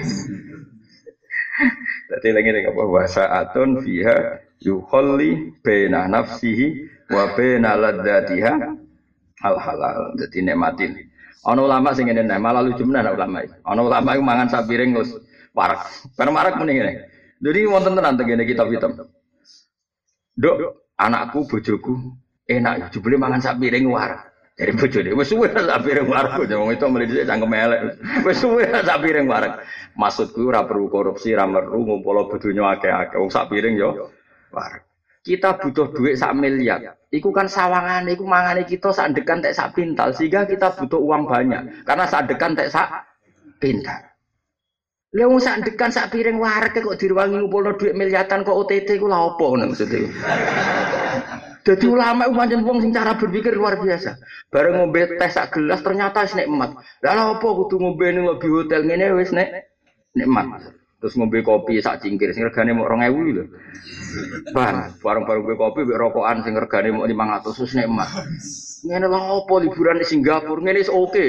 S1: Dadi lagi apa wasaatun fiha yukhalli baina nafsihi wa baina ladzatiha al halal. Dadi nikmatin. Ana ulama sing ngene malah lucu menan ulama iki. Ana ulama iku mangan sak piring terus warak. Bar warak muni ngene. Jadi wonten tenan tengene kitab hitam. Dok, anakku bojoku enak jebule mangan sak piring warak. Dari bojone wis suwe sak piring warak, wong itu mlih dhisik cangkem elek. Wis suwe sak piring warak. Maksudku ora perlu korupsi, ora perlu ngumpul donya akeh-akeh. Wong sak piring yo warak. Kita butuh duit sak miliar. Iku kan sawangane iku mangane kita sak dekan tek sak pintal sehingga kita butuh uang banyak. Karena sak dekan tek sak pintal. Lha wong sak dekan sak piring warak kok diruwangi ngumpulno duit miliatan kok O T T iku lha opo ngono maksudnya. Jadi ulama itu pancen wong sing cara berpikir luar biasa. Bareng ngombe teh sak gelas ternyata wis nikmat. Lah lha apa kudu ngombe ning lobby hotel ngene wis nek nikmat. Terus ngombe kopi sak cingkir sing regane mok dua ribu lho. Bang, bareng-bareng ngombe kopi mbek rokokan sing regane mok lima ratus wis nikmat. Ngene lha apa liburan di Singapura ngene wis oke.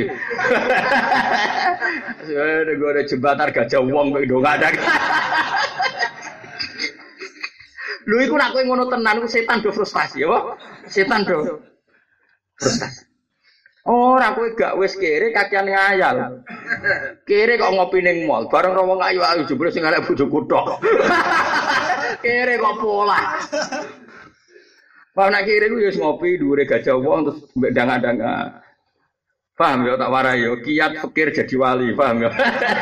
S1: Saya nego ada jembatan gajah wong kok ndo ada. Lho iku nek kowe ngono tenan ku setan do frustasi apa? Setan do frustasi. Ora kowe gak wis kere kakean ngayal. Kere kok ngopi ning mall, bareng wong ayu-ayu jebule sing arek bojoku tok. Kere kok pola. Wah nek kere ku ya wis ngopi dhuwure gajah wong terus mbek danga-danga. Paham ya tak warai yo kiat fikir jadi wali, paham ya.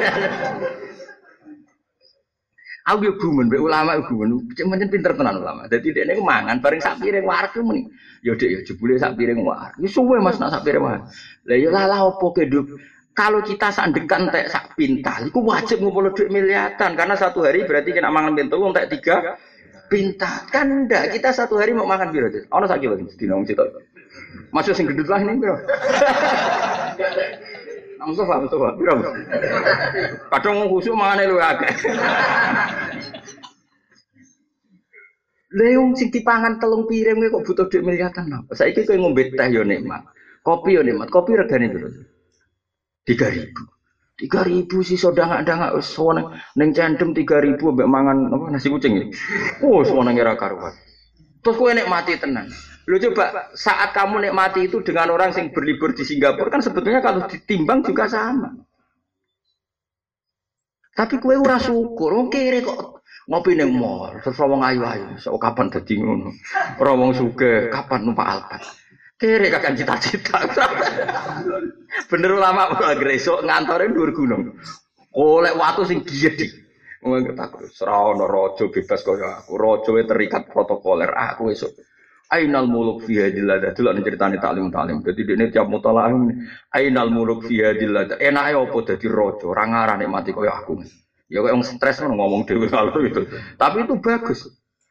S1: Aku yo gumen mbek ulama yo gumen, pancen pinter tenan ulama. Dadi dekne ku mangan bareng sak piring wareg ku muni. Yo Dik yo jebule sak piring wareg. Wis suwe Mas nak sak piring wareg. Lah yo lalah opo ke Nduk? Kalau kita sandekan entek sak pintal iku wajib ngumpul dhuwit miliatan karena satu hari berarti kena mangan pintu entek tiga pintal. Kan ndak kita satu hari mau makan piro, Dik? Ono sak kilo sedina wong sitok. Masuk sing gedut lah ini piro? Mustafa, Mustafa, piro? Kadang khusuk mangane luwih akeh. Leung sing dipangan telung piring kok butuh dhuwit miliatan apa? Saiki kowe ngombe teh yo nikmat. Kopi yo nikmat. Kopi regane piro? tiga ribu. tiga ribu sih sodang-dang wis sono ning cendem tiga ribu mbek mangan apa nasi kucing iki. Oh, sono ngira karuan. Terus kowe nikmati tenan. Lu coba saat kamu nikmati itu dengan orang yang berlibur di Singapura kan sebetulnya kalau ditimbang juga sama. Tapi kue ora syukur, wong kere kok ngopi ning mall, terus wong ayu-ayu, sok kapan dadi ngono. Ora wong sugih, kapan numpak Alphard. Kere kakek cita-cita. Bener ulama ora gresok ngantore dhuwur gunung. Golek watu sing giyedi. Wong takut ora ono raja bebas kaya aku. Raja terikat protokoler aku esuk. Ainal muluk fi hadil lada delok ceritane taklim taklim. Dadi dekne tiap mutalaah ainal muluk fi hadil lada. Enake opo dadi raja, ora ngarah nikmati kaya aku. Ya kok wong stres ngono ngomong dhewe kalau itu. Tapi itu bagus.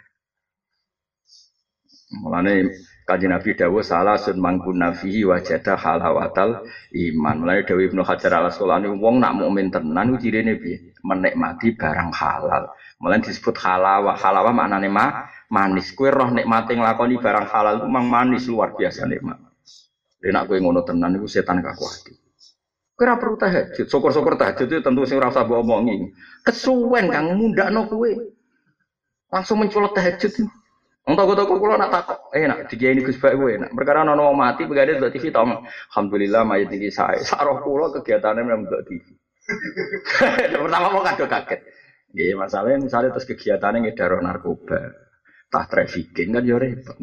S1: Mulane Kanjeng Nabi dawuh salasun mangkuna fihi wajada halawatal iman. Mulane dawuh Ibnu Hajar Al-Asqalani wong nak mukmin tenan ku cirine piye? Menikmati barang halal. Mulane disebut halawah. Halawah maknane ma manis. Kowe roh nikmate nglakoni barang halal ku mang manis luar biasa nikmat. Nek kowe ngono tenan iku setan gak kuat. Kowe ora perlu tahajud. Syukur-syukur tahajud itu tentu sing ora usah mbok omongi. Kesuwen kang mundakno kowe. Langsung mencolot tahajud. Wong toko-toko kula nak takok, enak dikiai Gus Bak kowe enak. Perkara ana wong mati pegane delok T V tong. Alhamdulillah mayit iki sae. Sak roh kula kegiatane meneng delok T V. Pertama mau kado kaget. Nggih, masalahnya misalnya terus kegiatane ngedaro narkoba. Tah trafficking kan yo repot.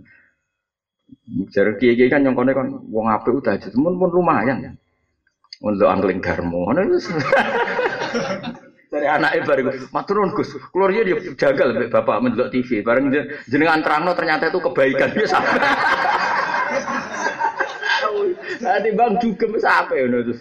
S1: Jare kiai-kiai kan nyongkone kan wong apik udah aja temen pun lumayan ya. Untuk angling garmo. Dari anake bareng maturun Gus. Kula riyen yo jagal mbek bapak mendelok T V. Bareng jenengan terangno ternyata itu kebaikan biasa. Nanti bang juga sampe ngono terus.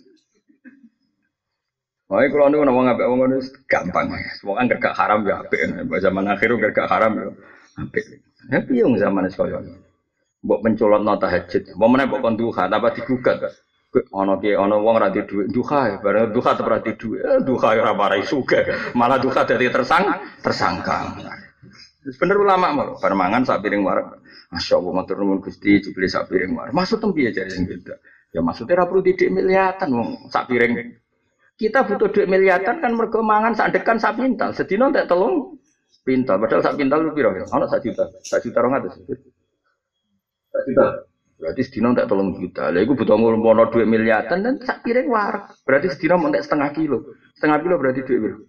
S1: Oh, kalau niku wong apik wong ngono gampang. Wong kan gak haram ya apik. Zaman akhir gak haram ya apik. Ya piye wong zaman koyo ngono. Mbok pencolotno tahajud. Apa meneh mbok kon duha apa digugat. Ana ki ana wong ra duwe duha, bareng duha tetep ra duwe. Duha ora marai sugih. Malah duha dadi tersang tersangka. Wis bener ulama mau permangan sak piring wareg. Masyaallah matur nuwun Gusti jebule sak piring wareg. Maksud tempiye jare sing beda. Ya maksudnya ra perlu didik miliatan wong sak piring. Kita butuh duit miliatan kan mergo mangan sak dekan sak pintal. Sedina entek telung pintal. Padahal sak pintal lu piro? Ono sak juta. sak juta rong atus. sak juta. Berarti sedina entek telung juta. Lah iku butuh ngono duit miliatan dan sak piring wareg. Berarti sedina entek setengah kilo. Setengah kilo berarti duit piro?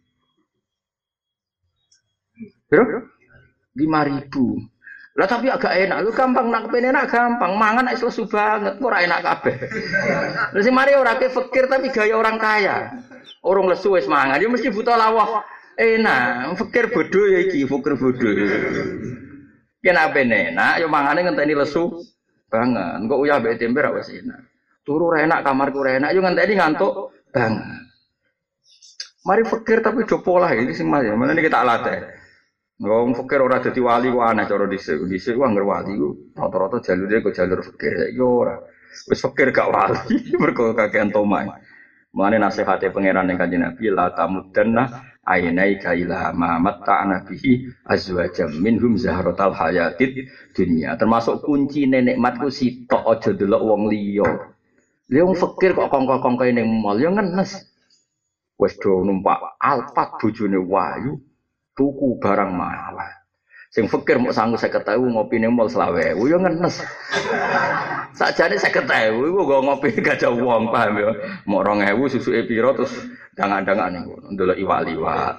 S1: Piro? lima ribu. Lah tapi agak enak, lu gampang nak kepene enak gampang, mangan nek lesu banget, ora enak kabeh. Lah sing mari ora ke fakir tapi gaya orang kaya. Orang lesu wis mangan, ya mesti butuh lawah. Enak, fakir bodoh ya iki, fakir bodoh. Yen ape enak, yo mangane ngenteni lesu banget. Engko uyah mbek tempe ra wis enak. Turu ra enak, kamarku ra enak, yo ngenteni ngantuk banget. Mari fakir tapi do pola iki sing mas, menene kita latih. Wong fakir ora dadi wali ku aneh cara dhisik. Dhisik ku anggere wali ku rata-rata jalure kok jalur fakir saiki ora. Wis fakir gak wali mergo kakean tomai. Mulane nasihate pangeran ning Kanjeng Nabi la tamudanna ainai kaila ma matta'na bihi azwajam minhum zahratal hayatid dunya. Termasuk kunci nikmat ku sitok aja delok wong liya. Lha wong fakir kok kongko-kongkoe ning mall ya ngenes. Wis do numpak Alphard bojone wayu tuku barang mahal. Sing fakir mok sanggup seket ewu ngopi ning mall selawe ewu ya ngenes. Sakjane seket ewu iku go ngopi gak ada wong paham ya. Mok rong ewu susuke pira terus dangan-dangan niku ndelok iwak-iwak.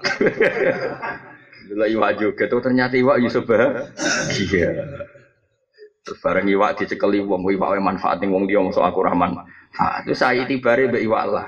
S1: Ndelok iwak juga tuh ternyata iwak ya sebahagia. Terus bareng iwak dicekeli wong iwak manfaat ning wong liya mosok aku rahman. Ha, itu saya tibare mbek iwak lah.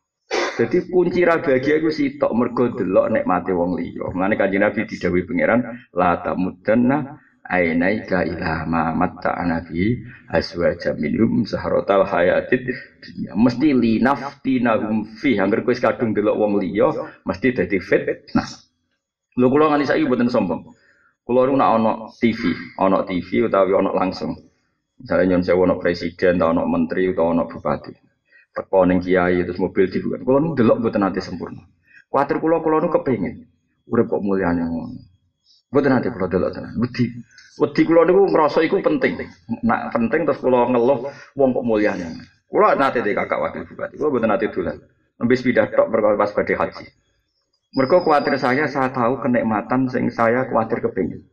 S1: Jadi kunci ra bahagia iku sitok mergo delok nikmate wong liya. Mulane Kanjeng Nabi didhawuhi pangeran la tamudanna ainaika ila ma matta'na bi azwajam minhum zahratal hayatid dunya. Mesti li naftinahum fi angger kowe kadung delok wong liya mesti dadi fitnah. Lho kula ngani saiki mboten sombong. Kula niku nek ana T V, ana T V utawi ana langsung. Misalnya nyon sewu ana presiden, utawa ana menteri, utawa ana bupati. Teko ning kiai terus mobil dibuka. Kula nu delok mboten nate sempurna. Kuwatir kula kula nu kepengin urip kok mulyane ngono. Mboten nate kula delok tenan. Wedi. Wedi kula niku ngrasa iku penting. Nak penting terus kula ngeluh wong kok mulyane. Kula nate de kakak wakil bupati. Kula mboten nate dolan. Nembe sepeda tok perkara pas badhe haji. Mergo kuwatir saya saya tahu kenikmatan sing saya kuwatir kepengin.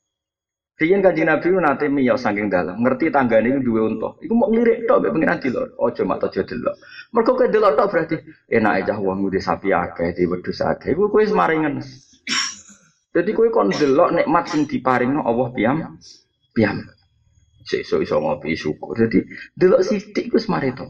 S1: Riyen Kanjeng Nabi nate miyos saking dalam, ngerti tanggane iku duwe unta. Iku mok nglirik tok mek pengiran dilok. Aja mak aja delok. Mergo kowe delok tok berarti enake cah wong ngudi sapi akeh, di wedhus akeh. Iku kowe semaringan. Dadi kowe kon delok nikmat sing diparingno Allah piyam piyam. Sesuk iso ngopi syukur. Dadi delok sithik iku semareto.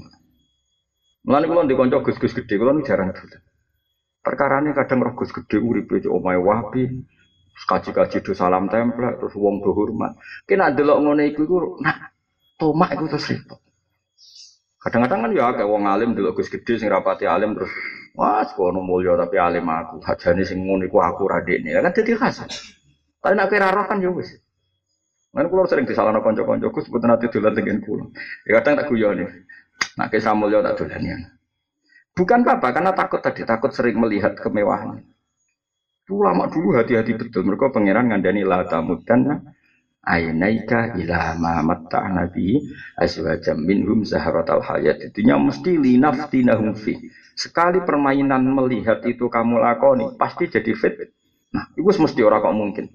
S1: Mulane kula ndek kanca gus-gus gedhe, kula nu jarang dolan. Perkarane kadang roh gus gedhe uripe cok omahe wapi. Kaji-kaji do salam templek terus wong do hormat. Kena delok ngene iku iku nak tomak iku terus repot. Kadang-kadang kan ya akeh wong alim delok Gus Gedhe sing rapati alim terus wah kono mulya tapi alim aku. Hajane sing ngono iku aku ra dekne. Kan dadi khas. Tapi nek kira roh kan ya wis. Lan kula sering disalahno kanca-kanca Gus mboten ate dolan tengen kula. Ya kadang tak guyoni. Nek kisah mulya tak dolani. Bukan apa karena takut tadi takut sering melihat kemewahan. Ulama dulu hati-hati betul mereka pangeran ngandani la tamudanna ainaika ila ma matta'na bi azwajam minhum zahratal hayat itunya mesti linaftinahum fi. Sekali permainan melihat itu kamu lakoni pasti jadi fit. Nah, itu mesti ora kok mungkin.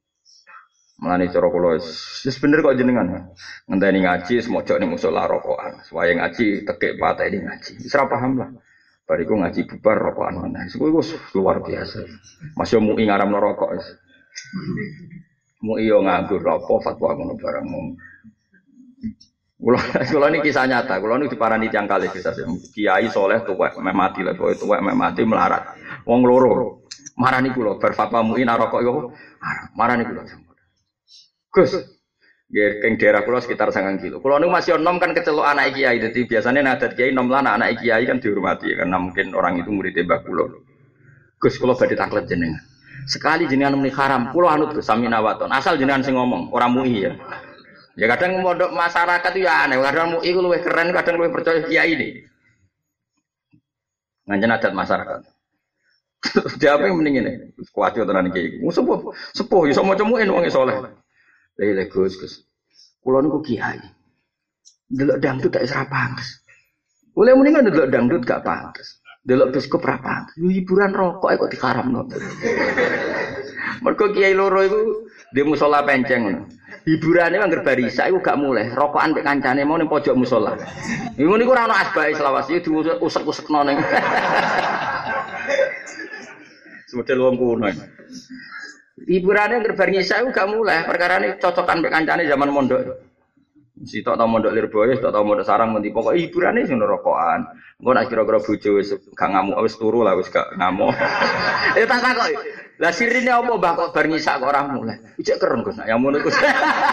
S1: Mulane cara kula wis bener kok jenengan. Ngenteni ngaji semojok ning musala rokokan. Suwaye ngaji tekek pateni ngaji. Wis ora paham lah. Bariku ngaji bubar rokokan mana? Itu luar biasa. Masih mau ingaram rokok. Mau iyo nganggur rokok fatwa ngono barang. Kulo kulo ini kisah nyata. Kulo ini diparani tiang kali kisah. Kiai soleh tuwek meh mati lah. Tuwek meh mati melarat. Wong loro. Marani kulo berfatwa muin rokok yo. Marani kulo. Gus. Nggih keng daerah kula sekitar sangang kilo. Kula niku masih enom kan kecelok anak kiai. Dadi biasane nadat kiai enom lan anak kiai kan dihormati karena mungkin orang itu murid Mbah kula. Gus kula badhe taklet jenengan. Sekali jenengan muni haram, kula anut Gus sami nawaton. Asal jenengan sing ngomong, ora mui ya. Ya kadang mondok masyarakat itu ya aneh, kadang mui ku luwih keren, kadang luwih percaya kiai ini. Nganjen adat masyarakat. Dia apa yang mending ini? Kuat yo tenan iki. Sepuh, sepuh iso maca muin wong saleh. Lha Gus, Gus. Kula niku kiai. Delok dangdut tak isra pantes. Oleh mendingan delok dangdut gak pantes. Delok biskup ra pantes. Hiburan rokok kok diharamno. Mergo kiai loro iku di musala penceng ngono. Hiburane angger barisa iku gak mulih. Rokokan mek kancane mau ning pojok musala. Iku niku ora ono asbae selawase diusek-usekno ning. Model wong kuno. Hiburannya ngerbar nyisa itu gak mulai, perkara ini cocokan mbek kancane zaman mondok. Si tok tau mondok Lirboyo, tok tau mondok Sarang mesti pokok hiburannya sing rokokan. Engko nek kira-kira bojo wis gak ngamuk wis turu lah wis gak ngamuk. Ya tak takok. Lah sirine apa mbah kok bar nyisa kok ora mulai. Ijek keren Gus, ya ngono Gus.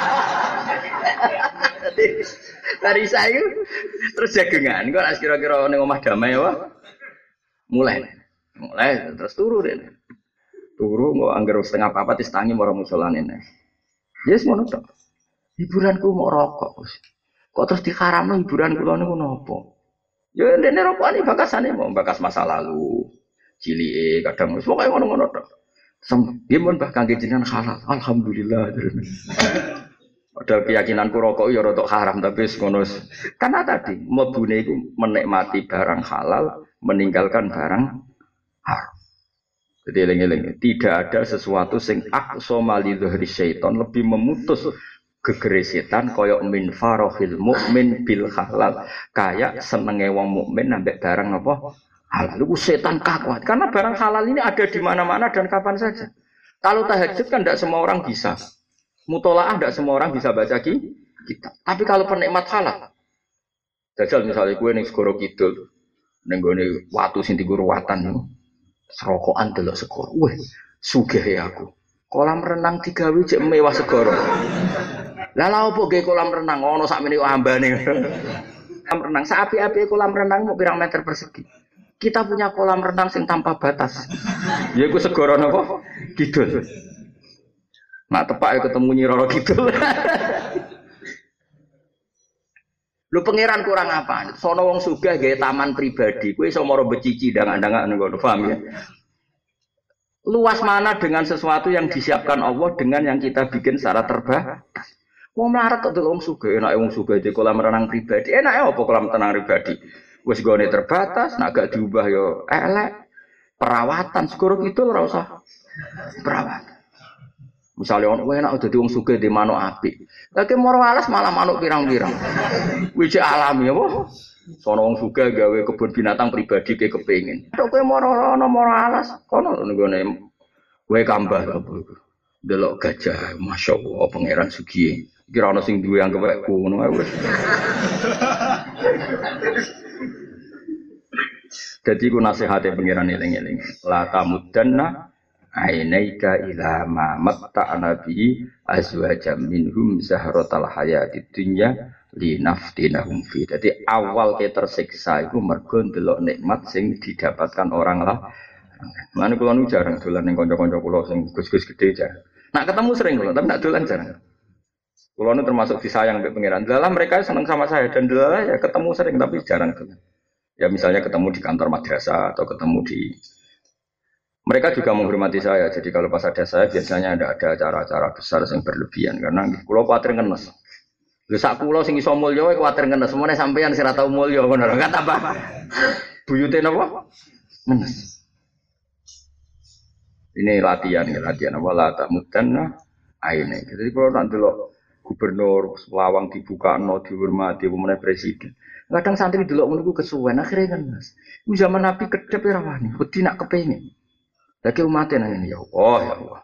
S1: Dari saya terus jagengan, engko nek kira-kira ning omah damai apa? Mulai. Mulai terus turu deh. Turu mau anggar setengah papat distangi marang musolane neh. Yes ngono tok. Hiburanku mau rokok. Kok terus diharamno hiburan kula niku napa? Ya ndene rokokane bakasane mau bakas masa lalu. Cilike kadang wis pokoke ngono-ngono tok. Sempun bah kangge jenengan halal. Alhamdulillah. Padahal keyakinanku rokok ya rada haram tapi wis ngono. Karena tadi mlebune iku menikmati barang halal, meninggalkan barang haram. Jadi eling-eling, tidak ada sesuatu sing aqsa malidhri syaitan lebih memutus gegere setan kaya min farahil mukmin bil halal. Kayak senenge wong mukmin ambek barang apa? Halal. Itu setan kakuat karena barang halal ini ada di mana-mana dan kapan saja. Kalau tahajud kan tidak semua orang bisa. Mutolaah tidak semua orang bisa baca kitab. Tapi kalau penikmat halal, jajal misalnya gue ning segoro kidul, ning gone watu sing diguru watan niku. Serokokan delok segoro. Weh, sugih ya aku. Kolam renang digawe jek mewah segoro. Lah lha opo ge kolam renang ono sakmene kok ambane. Kolam renang sapi-api kolam renang mau pirang meter persegi. Kita punya kolam renang sing tanpa batas. Ya iku segoro napa? Kidul. Nak tepak ketemu Nyi Roro Kidul. Lu pangeran kurang apa? Sono wong sugih gawe taman pribadi, kowe iso maro becici dangan-dangan ngono, paham ya? Luas mana dengan sesuatu yang disiapkan Allah dengan yang kita bikin secara terbatas. Wong melarat kok wong sugih, enake wong sugih di kolam renang pribadi. Enake apa kolam renang pribadi? Wis gone terbatas, nek gak diubah yo elek. Perawatan segoro itu ora usah perawatan. Misalnya orang enak udah diwong suge di manuk apik. Lagi moro alas malah manuk pirang-pirang. Wiji alami ya, boh. Sono wong suge gawe kebun binatang pribadi ke kepengin. Tok kowe moro ono moro alas, kono nggone wae kambah apa iku. Delok gajah, masyaallah pangeran sugih. Kira ono sing duwe anggapku ngono ae wis. Jadi ku nasihate pangeran eling-eling. La tamudanna ainaika ila ma matta'na bi azwajam minhum zahratal hayatid dunya linaftinahum fi. Jadi awal ke tersiksa iku mergo ndelok nikmat sing didapatkan orang lah. Mane kula nu jarang dolan ning kanca-kanca kula sing gus-gus gedhe jarang. Nak ketemu sering kula, tapi nak dolan jarang. Kula nu termasuk disayang mbek pangeran. Dalam mereka seneng sama saya dan dalam ya ketemu sering tapi jarang dolan. Ya misalnya ketemu di kantor madrasah atau ketemu di mereka juga menghormati saya, jadi kalau pas ada saya biasanya ada ada acara-acara besar yang berlebihan karena kulo kuatir ngenes. Lha sak kulo sing iso mulya wae kuatir ngenes, semene sampeyan sing ora tau mulya ngono lho, kata apa? Buyute napa? Ngenes. Ini latihan, ya, latihan apa la tak mudanna aine. Jadi kalau nak delok gubernur lawang dibukakno dihormati pemene presiden. Kadang santri delok ngono ku kesuwen akhire ngenes. Ku zaman Nabi kedep ora wani, wedi nak kepengin. Lagi umatnya nanya ya Allah, ya Allah.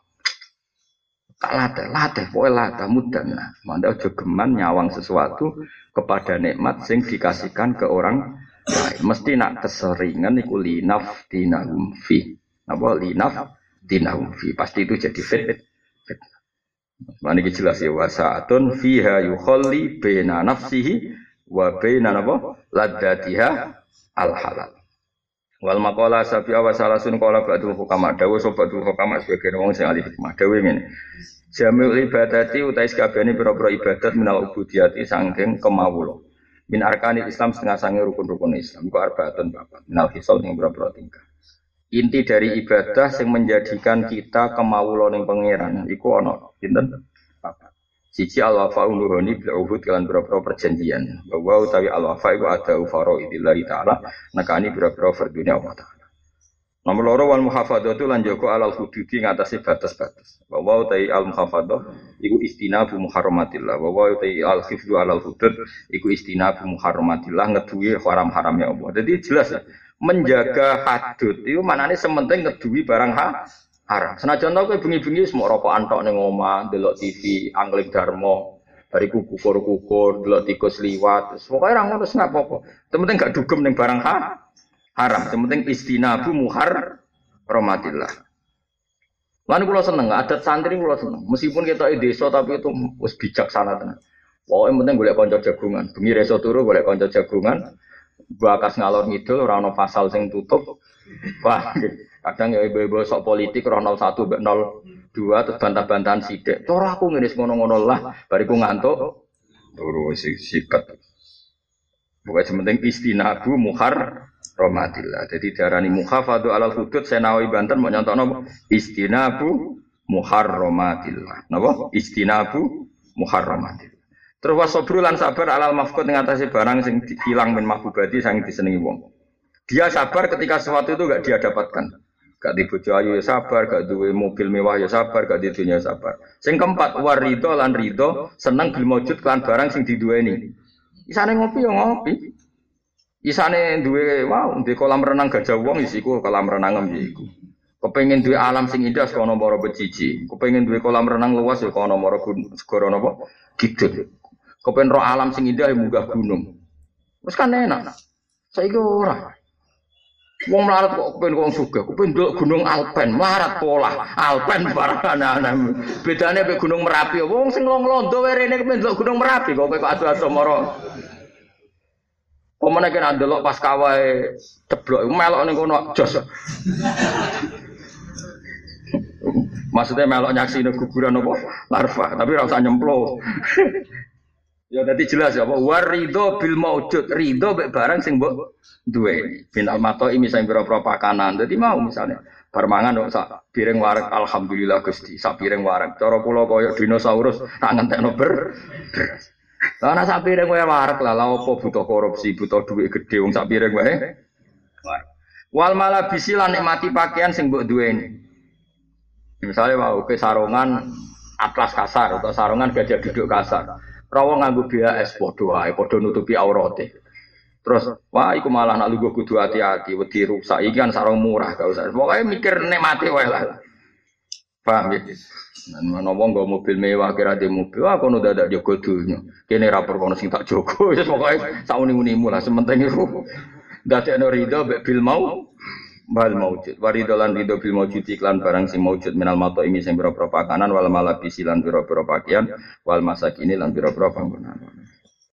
S1: Tak latih, latih, pokoknya latih, mudah. Nah, manda ojo geman nyawang sesuatu kepada nikmat sing dikasihkan ke orang lain. Mesti nak keseringan iku linaf dinahum fi. Apa linaf dinahum fi. Pasti itu jadi fit. fit. Mana ini jelas ya wasaatun fiha yukholli bena nafsihi wa bena apa ladatiha al halal. Wal maqala sabi'a wa salasun qala ba'dul hukama dawu sobatul hukama sebagai wong sing ahli hikmah dawu ngene. Jami'ul ibadati utais kabehane pira-pira ibadat minal ubudiyati saking kemawula. Min arkanil Islam setengah sange rukun-rukun Islam iku arbaatun papat. Minal hisal sing pira-pira tingkah. Inti dari ibadah sing menjadikan kita kemawula ning pangeran iku ana pinten? Papat. Siji al-wafa'u nuhoni bil uhud kelan pira-pira perjanjian. Bahwa utawi al-wafa' iku ada fara'idillahi ta'ala nekani pira-pira fardune Allah Ta'ala. Nomor loro wal muhafadzatu lan jaga alal hududi ngatasi batas-batas. Bahwa utawi al-muhafadzah iku istinabu muharramatillah. Bahwa utawi al-hifdzu alal hudud iku istinabu muharramatillah ngeduwi haram-haramnya Allah. Jadi jelas ya, menjaga hadud itu maknane sementing ngeduwi barang ha haram. Senajan tau kowe bengi-bengi wis mok rokokan tok ning omah, delok T V, angling dharma, bariku kukur-kukur, delok tikus liwat. Pokoke ora ngono sak apa-apa. Penting gak dugem ning barang ha haram. Penting istinabu muhar rahmatillah. Lan kula seneng, adat santri kula seneng. Meskipun kita di desa tapi itu wis bijaksana tenan. Pokoke penting golek kanca jagungan. Bengi reso turu golek kanca jagungan. Bakas ngalor ngidul ora ana pasal sing tutup. Wah, Kadang ya ibu-ibu sok politik roh nol satu mbek nol dua terus bantah-bantahan sithik. Cara aku ngene ngono-ngono lah, bariku ngantuk turu sikat. Pokoke sementing istinabu muhar romatillah. Jadi darani muhafadhu alal hudud Senawi Banten mau nyontokno istinabu muharramatillah. Napa? Istinabu muharramatillah. Terus wasobrul lan sabar alal mafqud ngatasi barang sing hilang min mahbubati sing disenengi wong. Dia sabar ketika sesuatu itu enggak dia dapatkan. Gak di bojo ayu ya sabar, gak duwe mobil mewah ya sabar, gak di dunia ya sabar. Sing keempat warido lan rido seneng bil maujud kan barang sing diduweni. Isane ngopi ya ngopi. Isane duwe wow, duwe kolam renang gajah wong isiku kolam renang iku. Kepengin duwe alam sing indah kono mara beciji. Kepengin duwe kolam renang luas ya kono mara segara napa? Kidul. Kepengin ro alam sing indah ya munggah gunung. Wis kan enak. Saiki ora. Wong melarat kok kepen wong sugih, kepen ndelok Gunung Alpen, melarat pola. Alpen barang ana-ana. Bedane mek Gunung Merapi. Wong sing londo wae rene kepen ndelok Gunung Merapi kok kok adu-adu mara. Pemene kena ndelok pas kawae ceblok melok ning kono jos. Maksudnya melok nyaksine guguran apa? Larva, tapi ora usah nyemplo. Ya tadi jelas ya, apa warido bil maujud, rido mek barang sing mbok duwe. Bin almato ini misalnya pira-pira pakanan. Dadi mau misalnya bar mangan kok sak piring wareg alhamdulillah Gusti, sak piring wareg. Cara kula koyo dinosaurus tak ngentekno ber. Lah ana sak piring wae wareg lah, lha opo butuh korupsi, butuh duit gede wong sak piring wae. Wal malah bisi lan nikmati pakaian sing mbok duweni. Misalnya mau ke sarungan atlas kasar atau sarungan gajah duduk kasar. Rawa nganggo B A S padha wae, padha nutupi aurate. Terus, wah iku malah nak lugu kudu hati-hati, wedi rusak. Iki kan sarung murah gak usah. Pokoke mikir nikmati wae lah. Paham ya? Nan wong nggo mobil mewah kira di mobil, ah kono dadak jogo dunya. Kene ra perkono sing tak jogo. Wis pokoke sauni-unimu lah sementing iku. Dadekno rido mek bil mau bal maujud. Warido lan rido bil maujud iklan barang sing maujud minal mato ini sing pira-pira pakanan wal malabisi lan pira-pira pakaian wal masakini lan pira-pira panggonan.